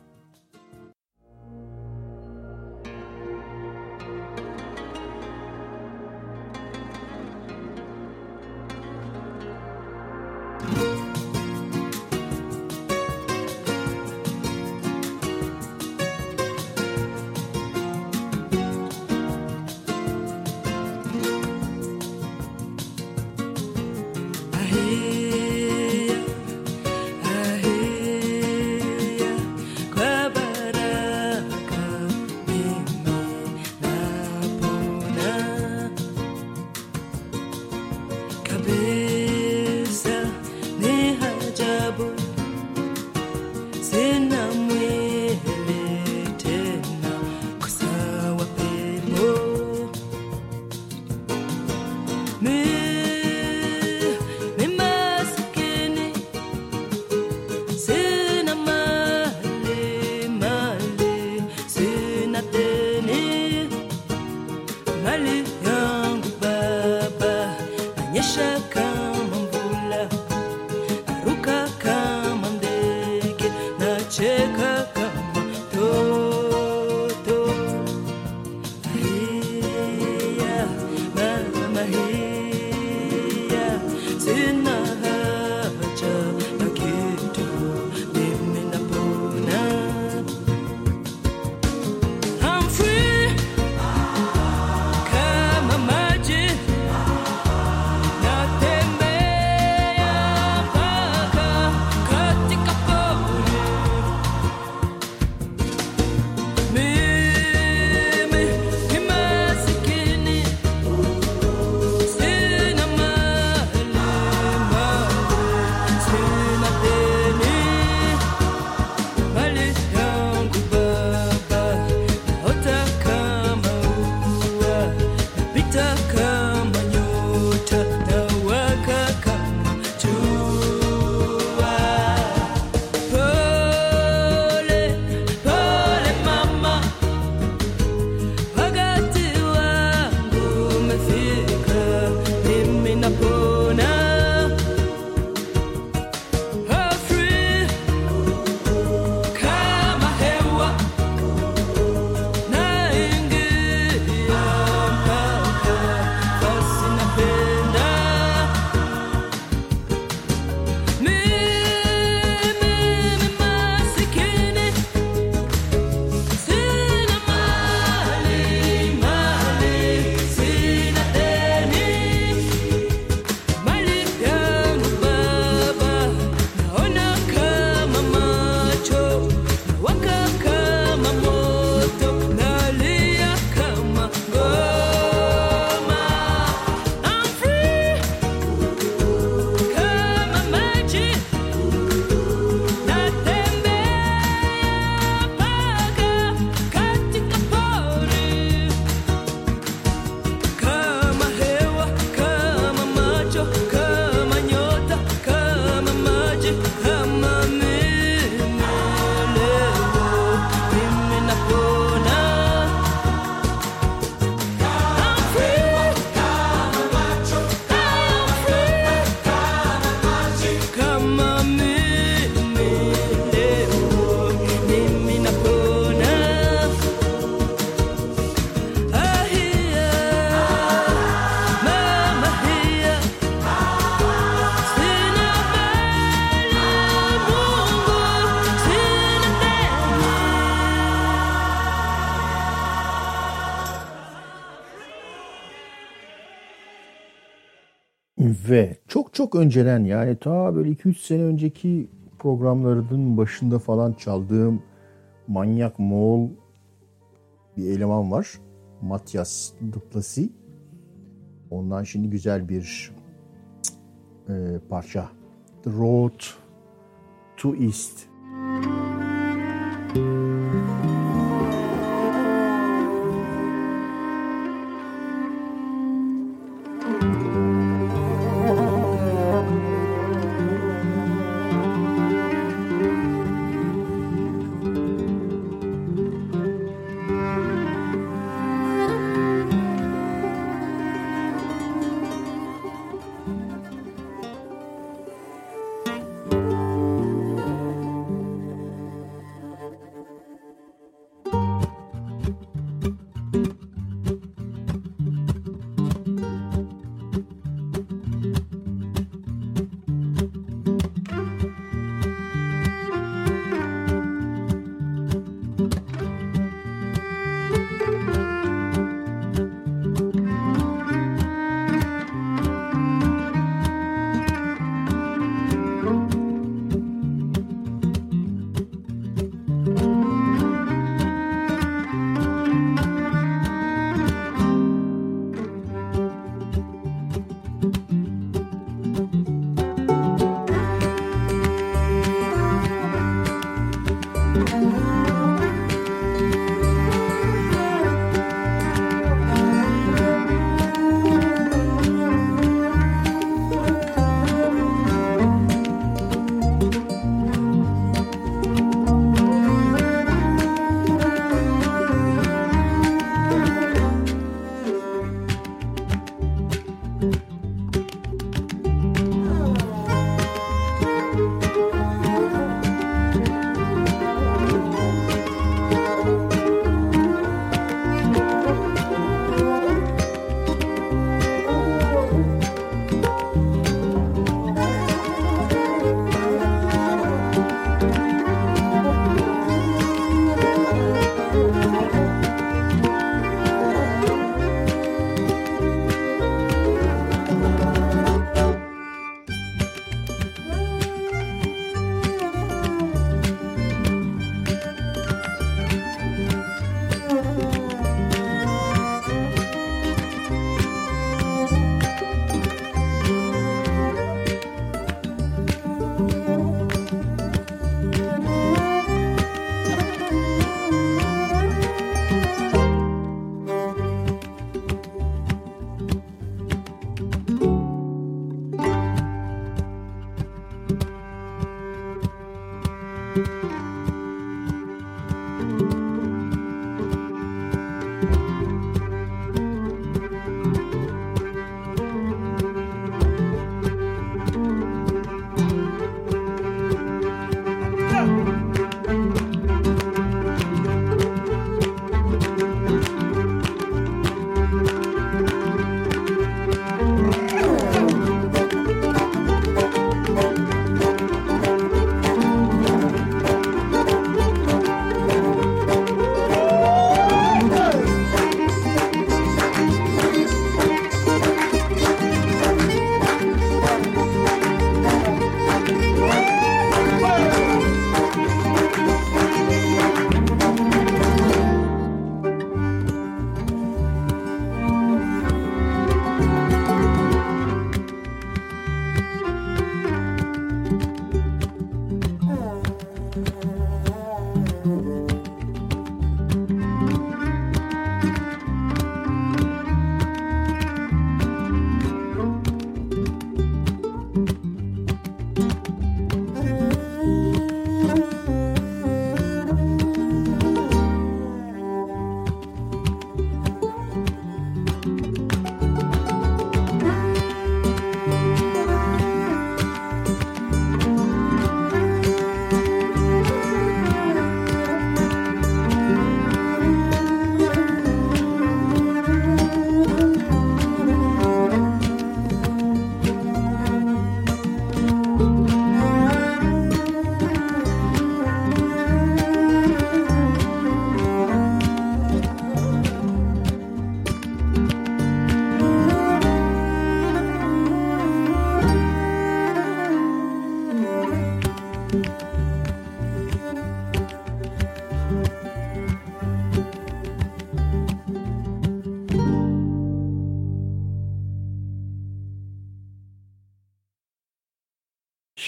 Ve çok önceden, yani ta böyle 2-3 sene önceki programlarının başında falan çaldığım Manyak Moğol bir eleman var. Matyas Duplessis. Ondan şimdi güzel bir parça. The Road to East.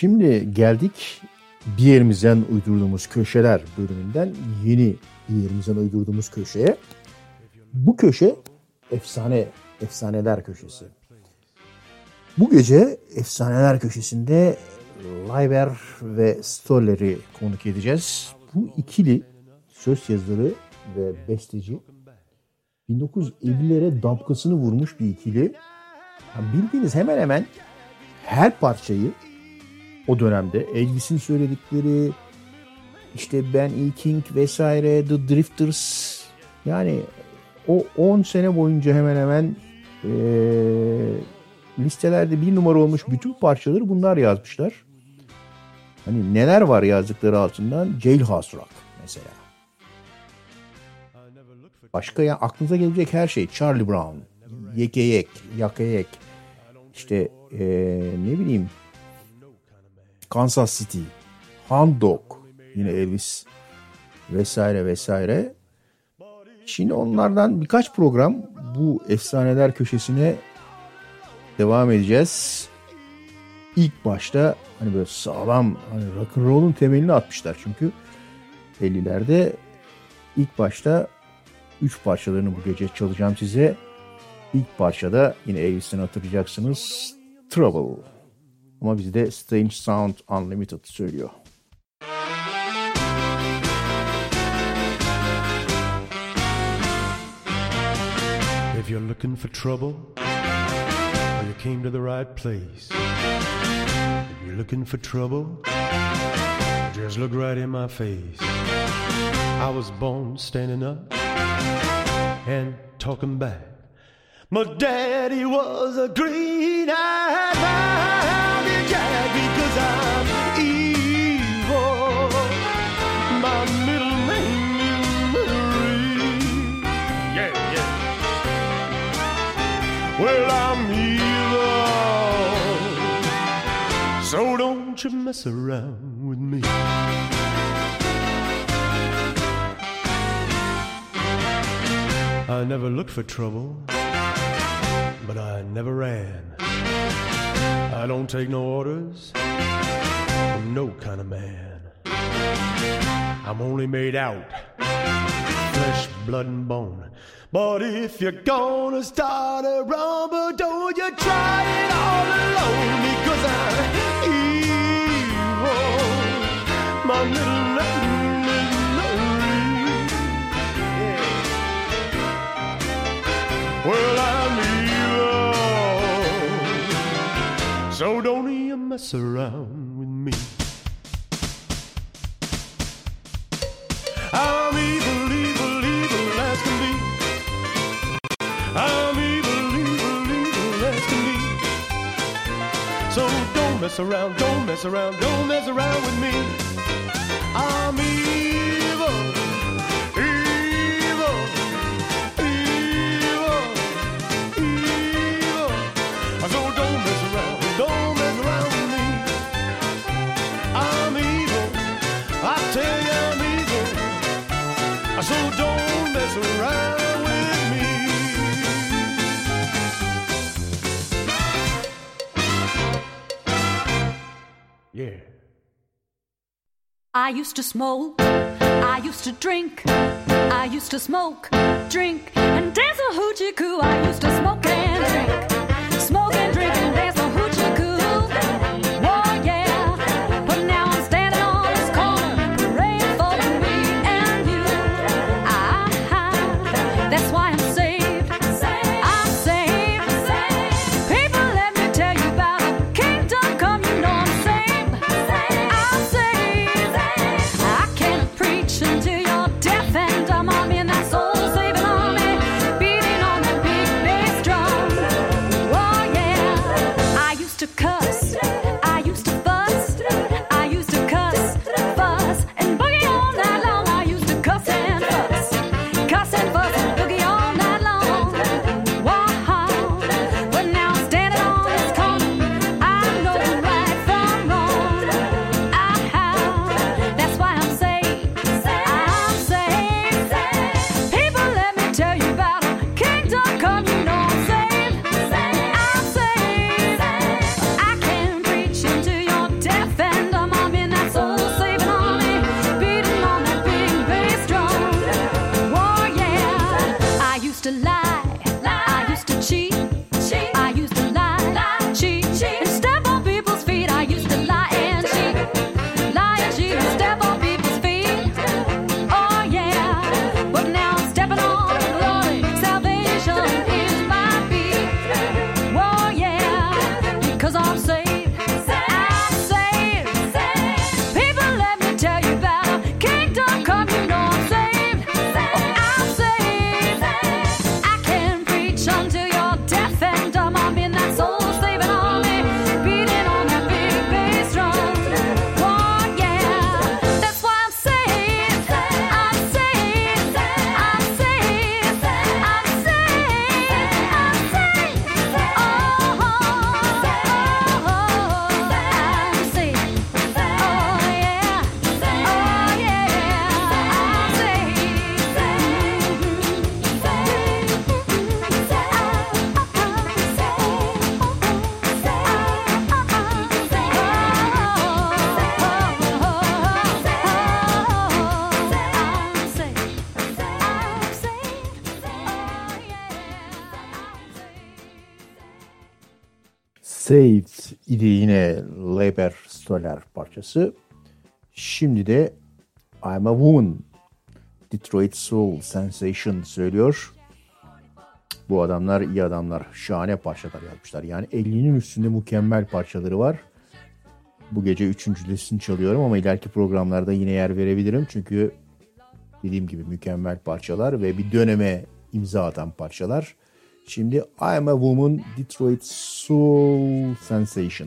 Şimdi geldik bir yerimizden uydurduğumuz köşeler bölümünden yeni bir yerimizden uydurduğumuz köşeye. Bu köşe efsaneler köşesi. Bu gece efsaneler köşesinde Leiber ve Stoller'i konuk edeceğiz. Bu ikili söz yazarı ve besteci 1950'lere damgasını vurmuş bir ikili. Yani bildiğiniz hemen hemen her parçayı o dönemde Elvis'in söyledikleri, işte Ben E. King vesaire, The Drifters, yani o 10 sene boyunca hemen hemen listelerde bir numara olmuş bütün parçaları bunlar yazmışlar. Hani neler var yazdıkları altından? Jailhouse Rock mesela. Başka ya aklınıza gelecek her şey. Charlie Brown, Yekeyek, Yakeyek, işte ne bileyim Kansas City, Hound Dog, yine Elvis vesaire vesaire. Şimdi onlardan birkaç program bu efsaneler köşesine devam edeceğiz. İlk başta hani böyle sağlam hani rock and roll'un temelini atmışlar çünkü 50'lerde ilk başta 3 parçalarını bu gece çalacağım size. İlk parçada yine Elvis'ten hatırlayacaksınız, Trouble. Ama bizde Strange Sound Unlimited söylüyor. If you're looking for trouble, you came to the right place. If you're looking for trouble, just look right in my face. I was born standing up and talking back. My daddy was a green-eyed mountain jack because I'm evil. My middle name is Marie. Yeah, yeah. Well, I'm evil, so don't you mess around with me. I never looked for trouble, but I never ran. I don't take no orders from no kind of man. I'm only made out flesh, blood, and bone. But if you're gonna start a rumble, don't you try it all alone, because I'm evil. My middle name is Marie. Yeah. Well, I'm evil, so don't you mess around with me. I'm evil, evil, evil as can be. I'm evil, evil, evil as can be. So don't mess around, don't mess around, don't mess around with me. I'm evil, evil, evil, evil. So don't mess around with me. I'm evil, I tell you I'm evil. So don't mess around with me. Yeah. I used to smoke, I used to drink, I used to smoke, drink, and dance a hoochie coo. I used to smoke and drink, smoke and drink and dance a hoochie coo. Oh yeah, but now I'm standing on this corner, praying for me and you. That's why I'm saved, I'm saved. People, let me tell you about a kingdom come, you know I'm saved. I'm saved. I can't preach until you're deaf and dumb. I'm in that soul-saving army, beating on that big bass drum. Saved idi yine Leiber Stoller parçası. Şimdi de I'm a Woman, Detroit Soul Sensation söylüyor. Bu adamlar iyi adamlar. Şahane parçalar yapmışlar. Yani 50'nin üstünde mükemmel parçaları var. Bu gece üçüncülesini çalıyorum ama ileriki programlarda yine yer verebilirim. Çünkü dediğim gibi mükemmel parçalar ve bir döneme imza atan parçalar. Şimdi I'm a Woman, Detroit Soul Sensation.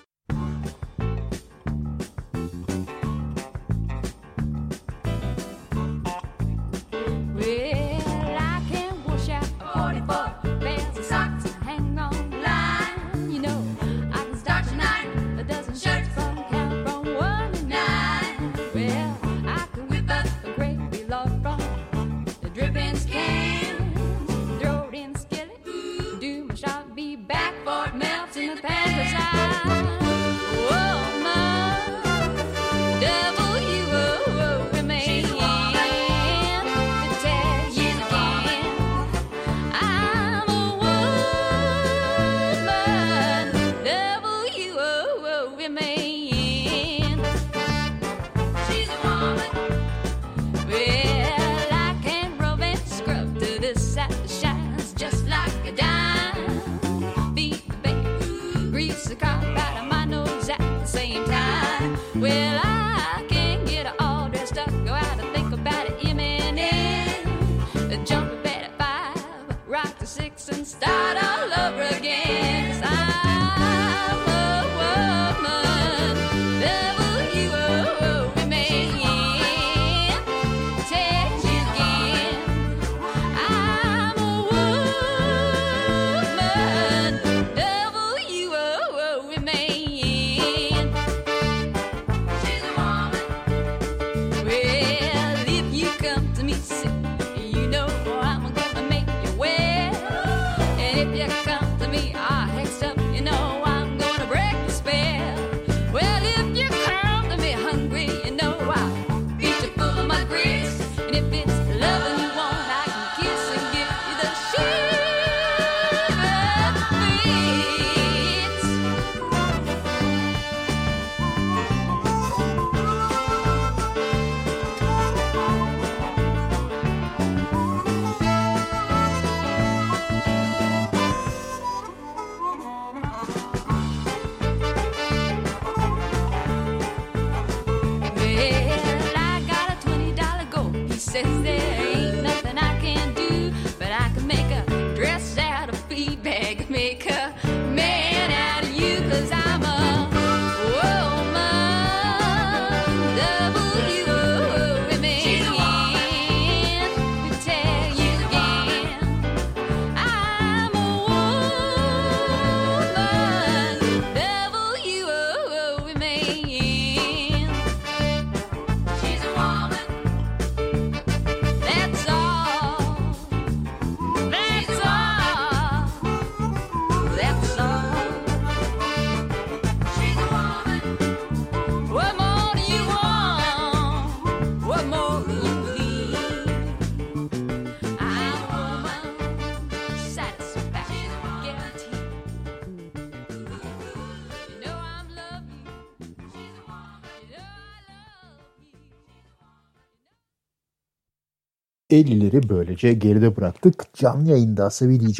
...50'leri böylece geride bıraktık. Canlı yayında Asabi DJ.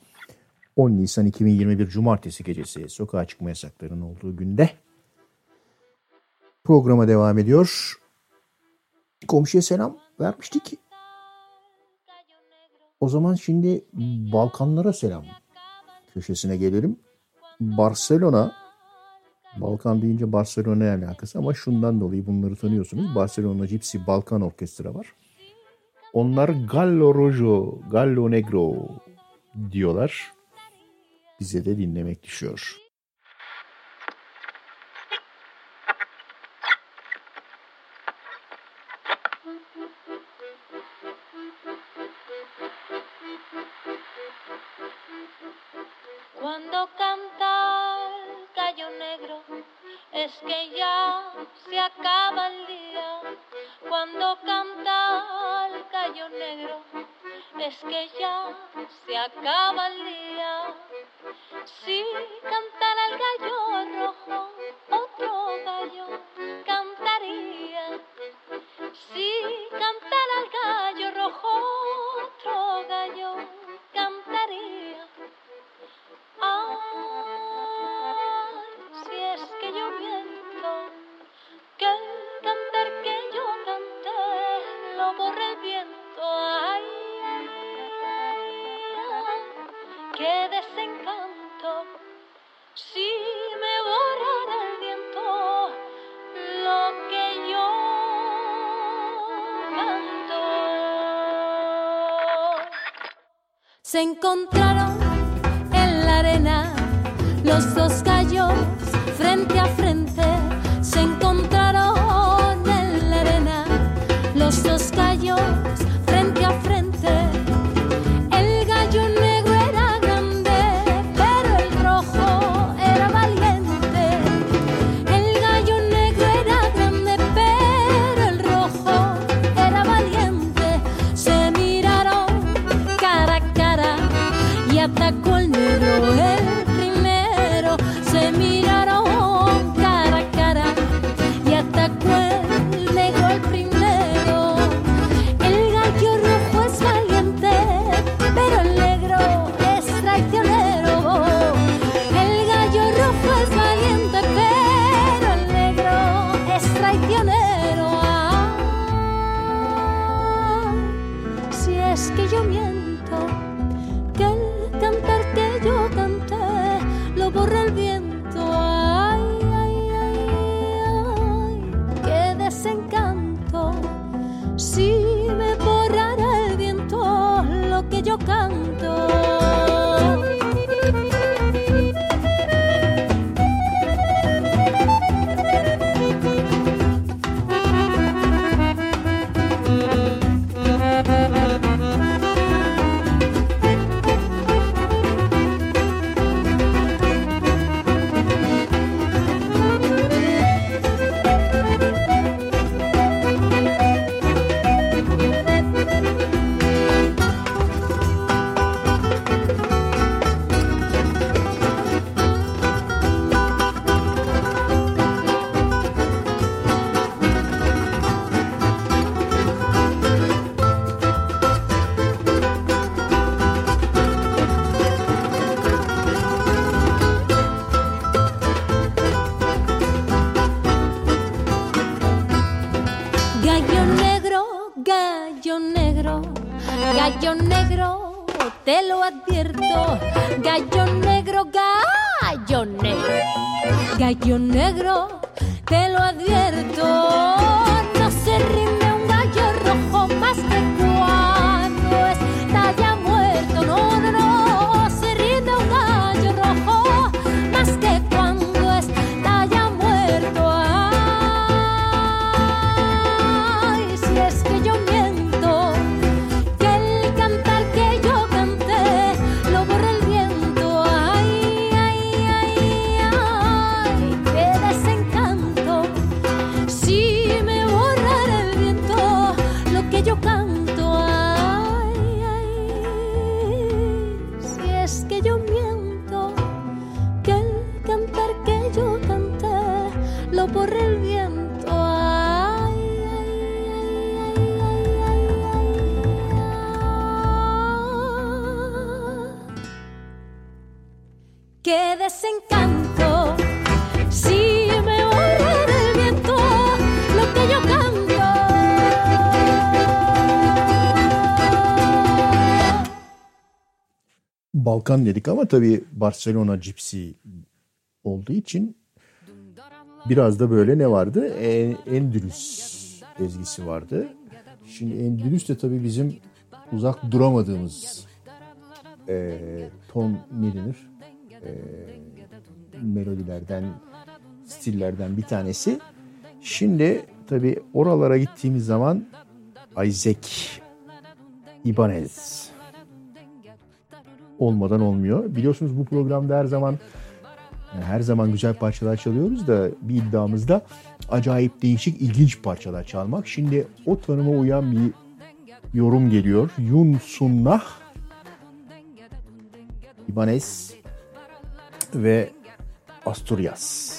10 Nisan 2021 Cumartesi gecesi sokağa çıkma yasaklarının olduğu günde programa devam ediyor. Komşuya selam vermiştik. O zaman şimdi Balkanlara selam köşesine gelelim. Barcelona, Balkan deyince Barcelona'ya alakası ama şundan dolayı bunları tanıyorsunuz. Barcelona Gypsy Balkan Orkestra var. Onlar Gallo Rojo, Gallo Negro diyorlar. Bize de dinlemek düşüyor. Cuando canta el gallo negro es que ya se acaba el día. Cuando canta el gallo negro es que ya se acaba el día. Si cantara el gallo rojo, otro gallo cantaría. Si cantara el gallo rojo, otro gallo cantaría. Ay, si es que yo miento, que el cantar que yo canté lo borra el viento. Ay, ay, ay, ay, qué desencanto. Si me borrara el viento lo que yo canto. Se encontraron en la arena los dos gallos frente a frente. Se encontraron en la arena los dos gallos frente a frente. El gallo negro era grande, pero el rojo era valiente. El gallo negro era grande, pero el rojo era valiente. Se miraron cara a cara y atacó el negro el primero. Se miraron cara a cara y atacó el negro el primero. El gallo rojo es valiente, pero el negro es traicionero. El gallo rojo es valiente, pero el negro es traicionero. Ah, si es que yo miento, que el cantar que yo canté lo borra el viento. Ay, ay, ay, ay, qué desencanto. Si me borrara el viento lo que yo canto. Gallo negro, gallo negro, gallo negro, te lo advierto. Gallo negro, gallo negro, gallo negro, te lo advierto. No se rinde un gallo rojo más que cuando está ya muerto. No, no, no, se rinde un gallo rojo más que cuando está ya muerto. Ay, si es que yo miento, que el cantar que yo canté lo borra el viento. Ay, ay, ay, ay, qué desencanto. Si me borrara el viento lo que yo canto. Ay, ay, si es que yo miento, que el cantar que yo canté lo borra el viento. Ay, ay, ay, ay, ay, ay, ay. Qué desencanto. Si me borrara el viento lo que yo canto. Balkan dedik ama tabii Barcelona Gypsy olduğu için biraz da böyle ne vardı? Endülüs ezgisi vardı. Şimdi Endülüs de tabii bizim uzak duramadığımız Tom Milner melodilerden, stillerden bir tanesi. Şimdi tabii oralara gittiğimiz zaman Isaac Ibanez olmadan olmuyor. Biliyorsunuz bu programda her zaman güzel parçalar çalıyoruz da bir iddiamız da acayip değişik, ilginç parçalar çalmak. Şimdi o tanıma uyan bir yorum geliyor. Yun Sunnah, Ibanez ve Asturias.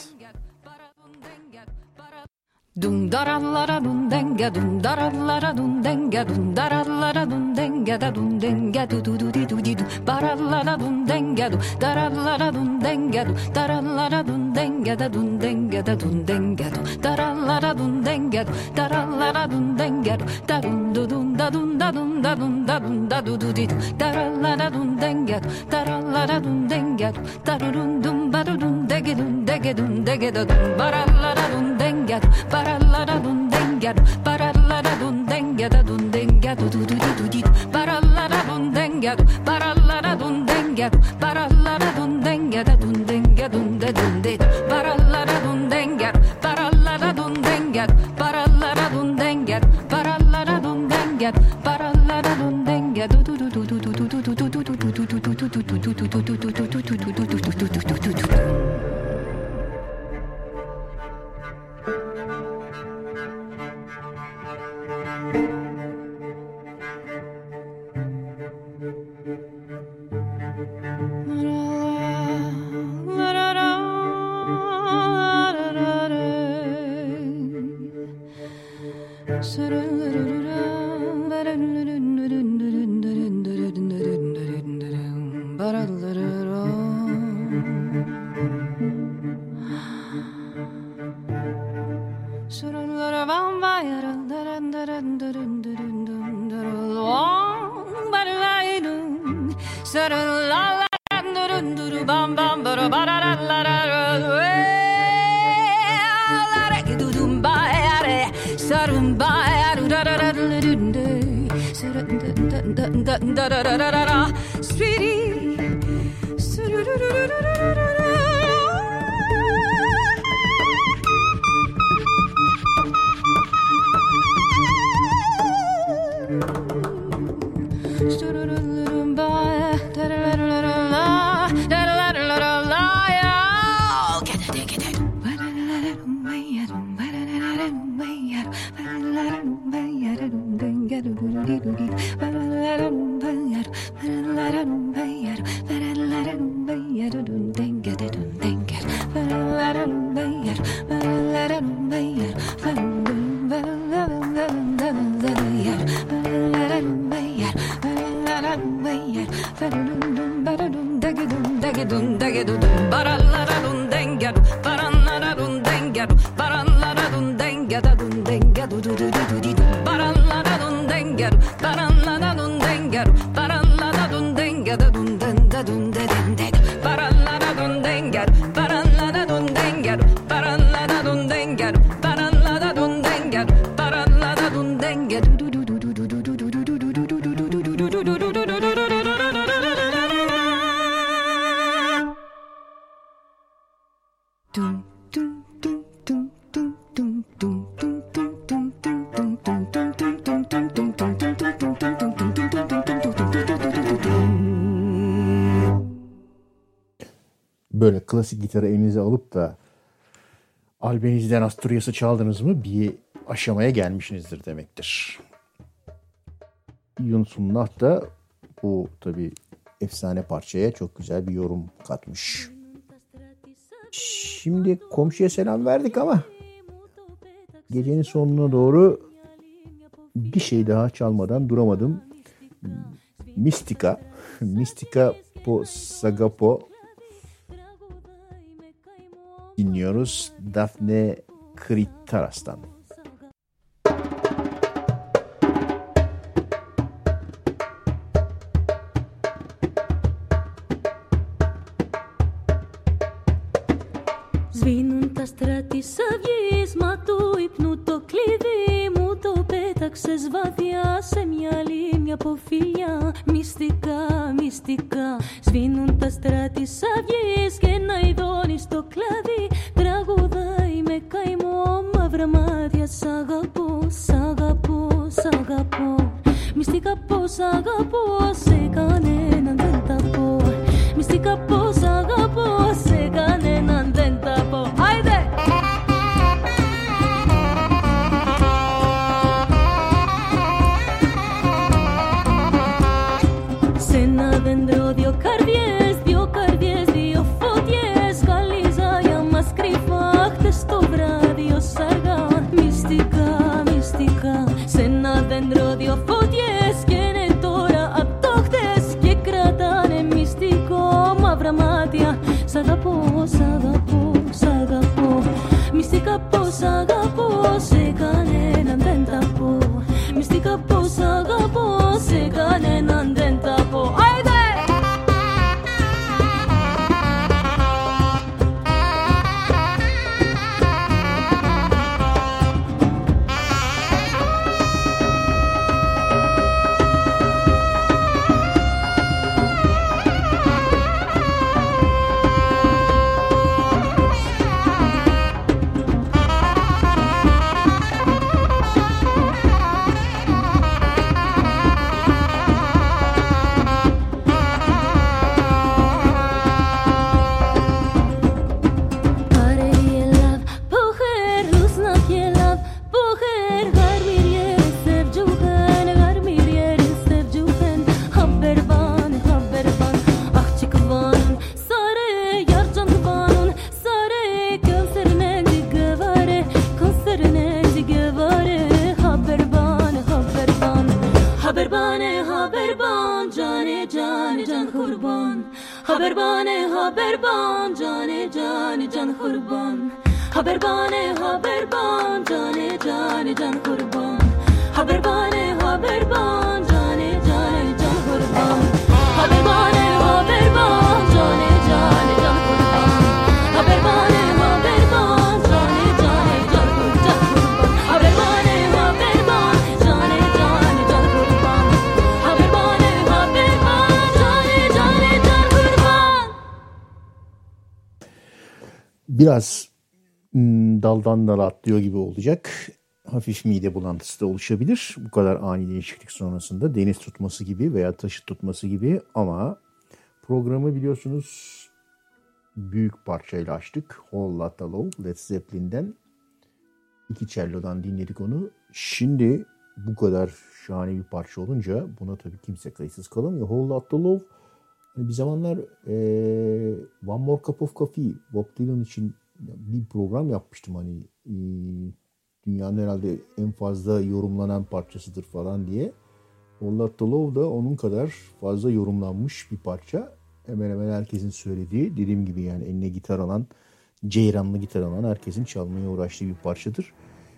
Dum darallara dum denga dum darallara dum denga dum darallara dum denga da dum denga du du du di du di du barallara dum denga du darallara dum denga du darallara dum denga da dum denga da dum denga du darallara dum denga du darallara dum denga du da dum du dum da dum da dum da dum da dum da du du di du darallara dum denga du darallara dum denga du darudum dum barudum dege dum dege dum dege da dum barallara dum denga du barallara dun denga barallara dun denga da dun denga du du du du du barallara dun denga barallara dun denga barallara dun denga da dun denga dun de dun de barallara dun denga barallara dun denga barallara dun denga barallara dun denga barallara dun denga du du du du du du du du du Böyle klasik gitarı elinize alıp da Albaniz'den Asturias'ı çaldınız mı bir aşamaya gelmişsinizdir demektir. Yun Sunnah da bu tabii efsane parçaya çok güzel bir yorum katmış. Şimdi komşuya selam verdik ama gecenin sonuna doğru bir şey daha çalmadan duramadım. Mistika po Sagapo dinliyoruz Daphne Kritaras'tan. Σβήνουν τα στράτη σαν βγεις, μα του ύπνου το κλειδί μου το πέταξες βαθιά σε μια λίμνη από φιλιά. Μυστικά, μυστικά, σβήνουν τα στράτη σαν βγεις και ένα ειδώνει στο κλαδί. Τραγουδάει με καημό, μαύρα μάτια, σ' αγαπώ, σ' αγαπώ, σ' αγαπώ. Μυστικά πως αγαπώ, σε κανέναν δεν τα πω. Μυστικά πως αγαπώ, σε κανέναν δεν τα πω. Άιντε! Sagapo, sagapo, sagapo. Mistika po, sagapo, segane nandenta po. Mistika po, sagapo, segane nandenta po. Haydi! Biraz daldan dala atlıyor gibi olacak. Hafif mide bulantısı da oluşabilir. Bu kadar ani değişiklik sonrasında deniz tutması gibi veya taşı tutması gibi, ama programı biliyorsunuz büyük parçayla açtık. Whole Lotta Love, Led Zeppelin'den. 2 cello'dan dinledik onu. Şimdi bu kadar şahane bir parça olunca buna tabii kimse kayıtsız kalamıyor. Whole Lotta Love, hani bir zamanlar One More Cup of Coffee, Bob Dylan için bir program yapmıştım, hani dünyanın herhalde en fazla yorumlanan parçasıdır falan diye. Whole Lotta Love da onun kadar fazla yorumlanmış bir parça. Hemen hemen herkesin söylediği, dediğim gibi yani eline gitar alan, ceyranlı gitar alan herkesin çalmaya uğraştığı bir parçadır.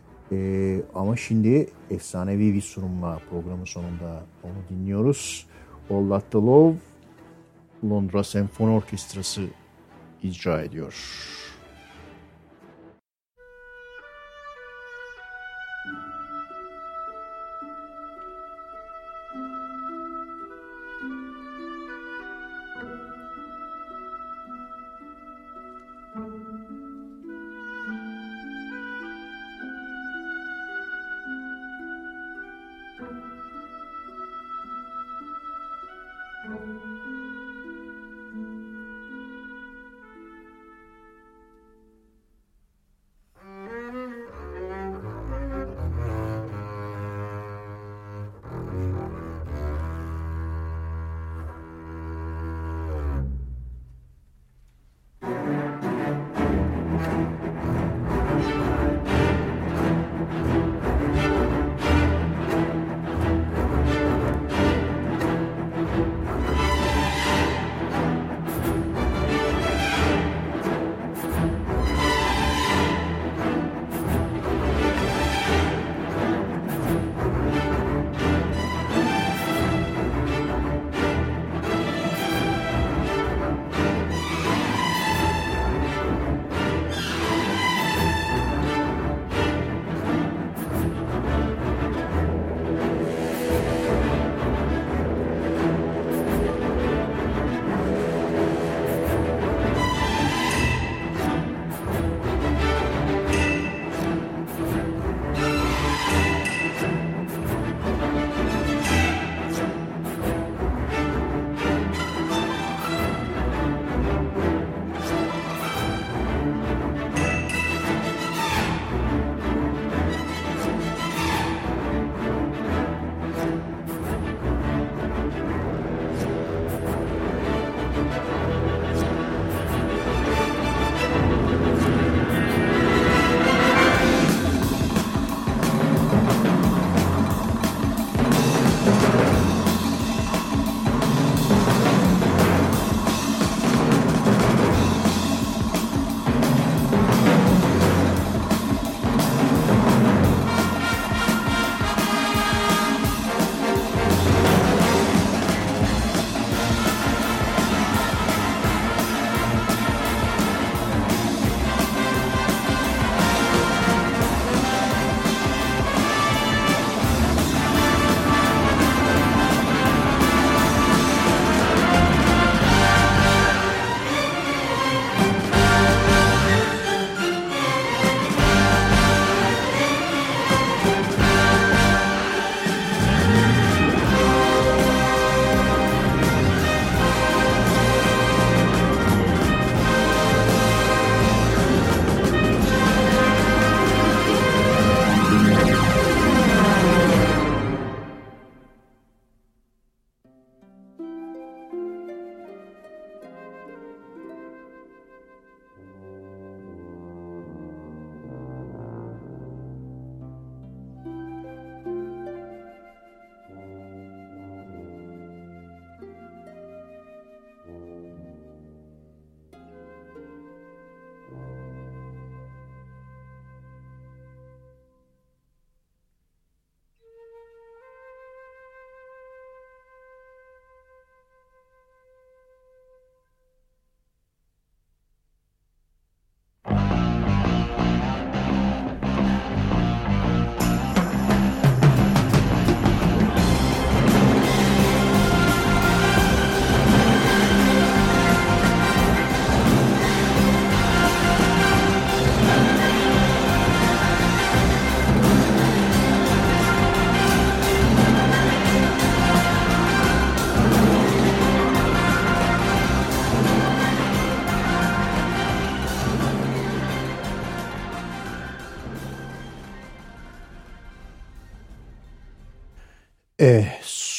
Ama şimdi efsanevi bir sunumla programın sonunda onu dinliyoruz. Whole Lotta Love, Londra Senfoni Orkestrası icra ediyor.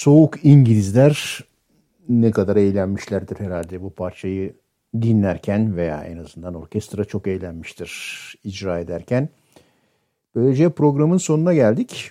Soğuk İngilizler ne kadar eğlenmişlerdir herhalde bu parçayı dinlerken veya en azından orkestra çok eğlenmiştir icra ederken. Böylece programın sonuna geldik.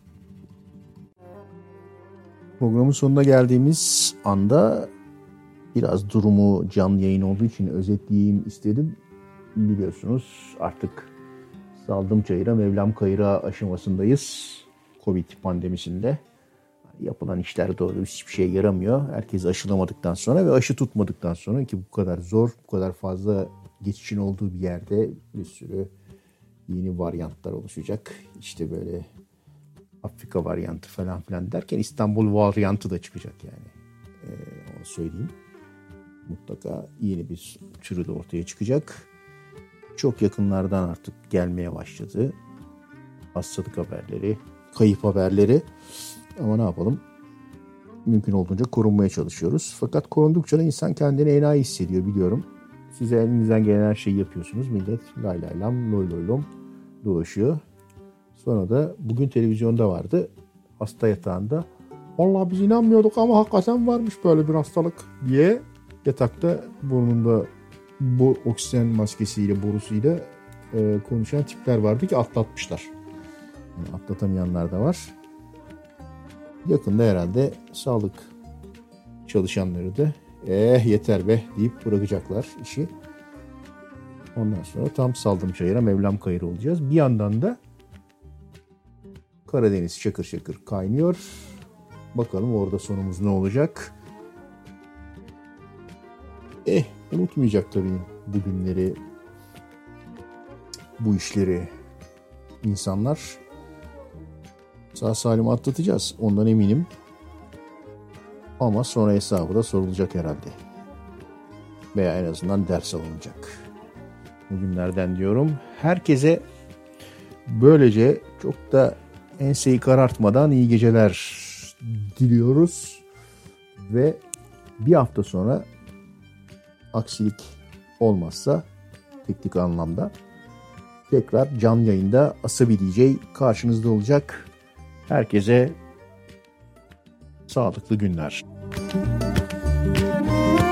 Programın sonuna geldiğimiz anda biraz durumu canlı yayın olduğu için özetleyeyim istedim. Biliyorsunuz artık saldım çayıra Mevlam kayıra aşamasındayız. Covid pandemisinde. Yapılan işler doğru hiçbir şeye yaramıyor. Herkes aşılamadıktan sonra ve aşı tutmadıktan sonra ki bu kadar zor, bu kadar fazla geçişin olduğu bir yerde bir sürü yeni varyantlar oluşacak. İşte böyle Afrika varyantı falan filan derken İstanbul varyantı da çıkacak yani. Onu söyleyeyim. Mutlaka yeni bir türü de ortaya çıkacak. Çok yakınlardan artık gelmeye başladı. Hastalık haberleri, kayıp haberleri. Ama ne yapalım? Mümkün olduğunca korunmaya çalışıyoruz. Fakat korundukça da insan kendini enayi hissediyor biliyorum. Size elinizden gelen her şeyi yapıyorsunuz. Millet lay lay lam, loy loy lom dolaşıyor. Sonra da bugün televizyonda vardı. Hasta yatağında. Vallahi biz inanmıyorduk ama hakikaten varmış böyle bir hastalık diye yatakta burnunda bu oksijen maskesiyle, borusuyla konuşan tipler vardı ki atlatmışlar. Yani atlatamayanlar da var. Yakında herhalde sağlık çalışanları da yeter be deyip bırakacaklar işi. Ondan sonra tam saldım çayıra Mevlam kayırı olacağız. Bir yandan da Karadeniz şakır şakır kaynıyor. Bakalım orada sonumuz ne olacak? Unutmayacak tabii bu günleri, bu işleri insanlar. Sağ salim atlatacağız. Ondan eminim. Ama sonra hesabı da sorulacak herhalde. Veya en azından ders alınacak. Bugünlerden diyorum. Herkese böylece çok da enseyi karartmadan iyi geceler diliyoruz. Ve bir hafta sonra aksilik olmazsa teknik anlamda tekrar canlı yayında Asabi DJ karşınızda olacak. Herkese sağlıklı günler.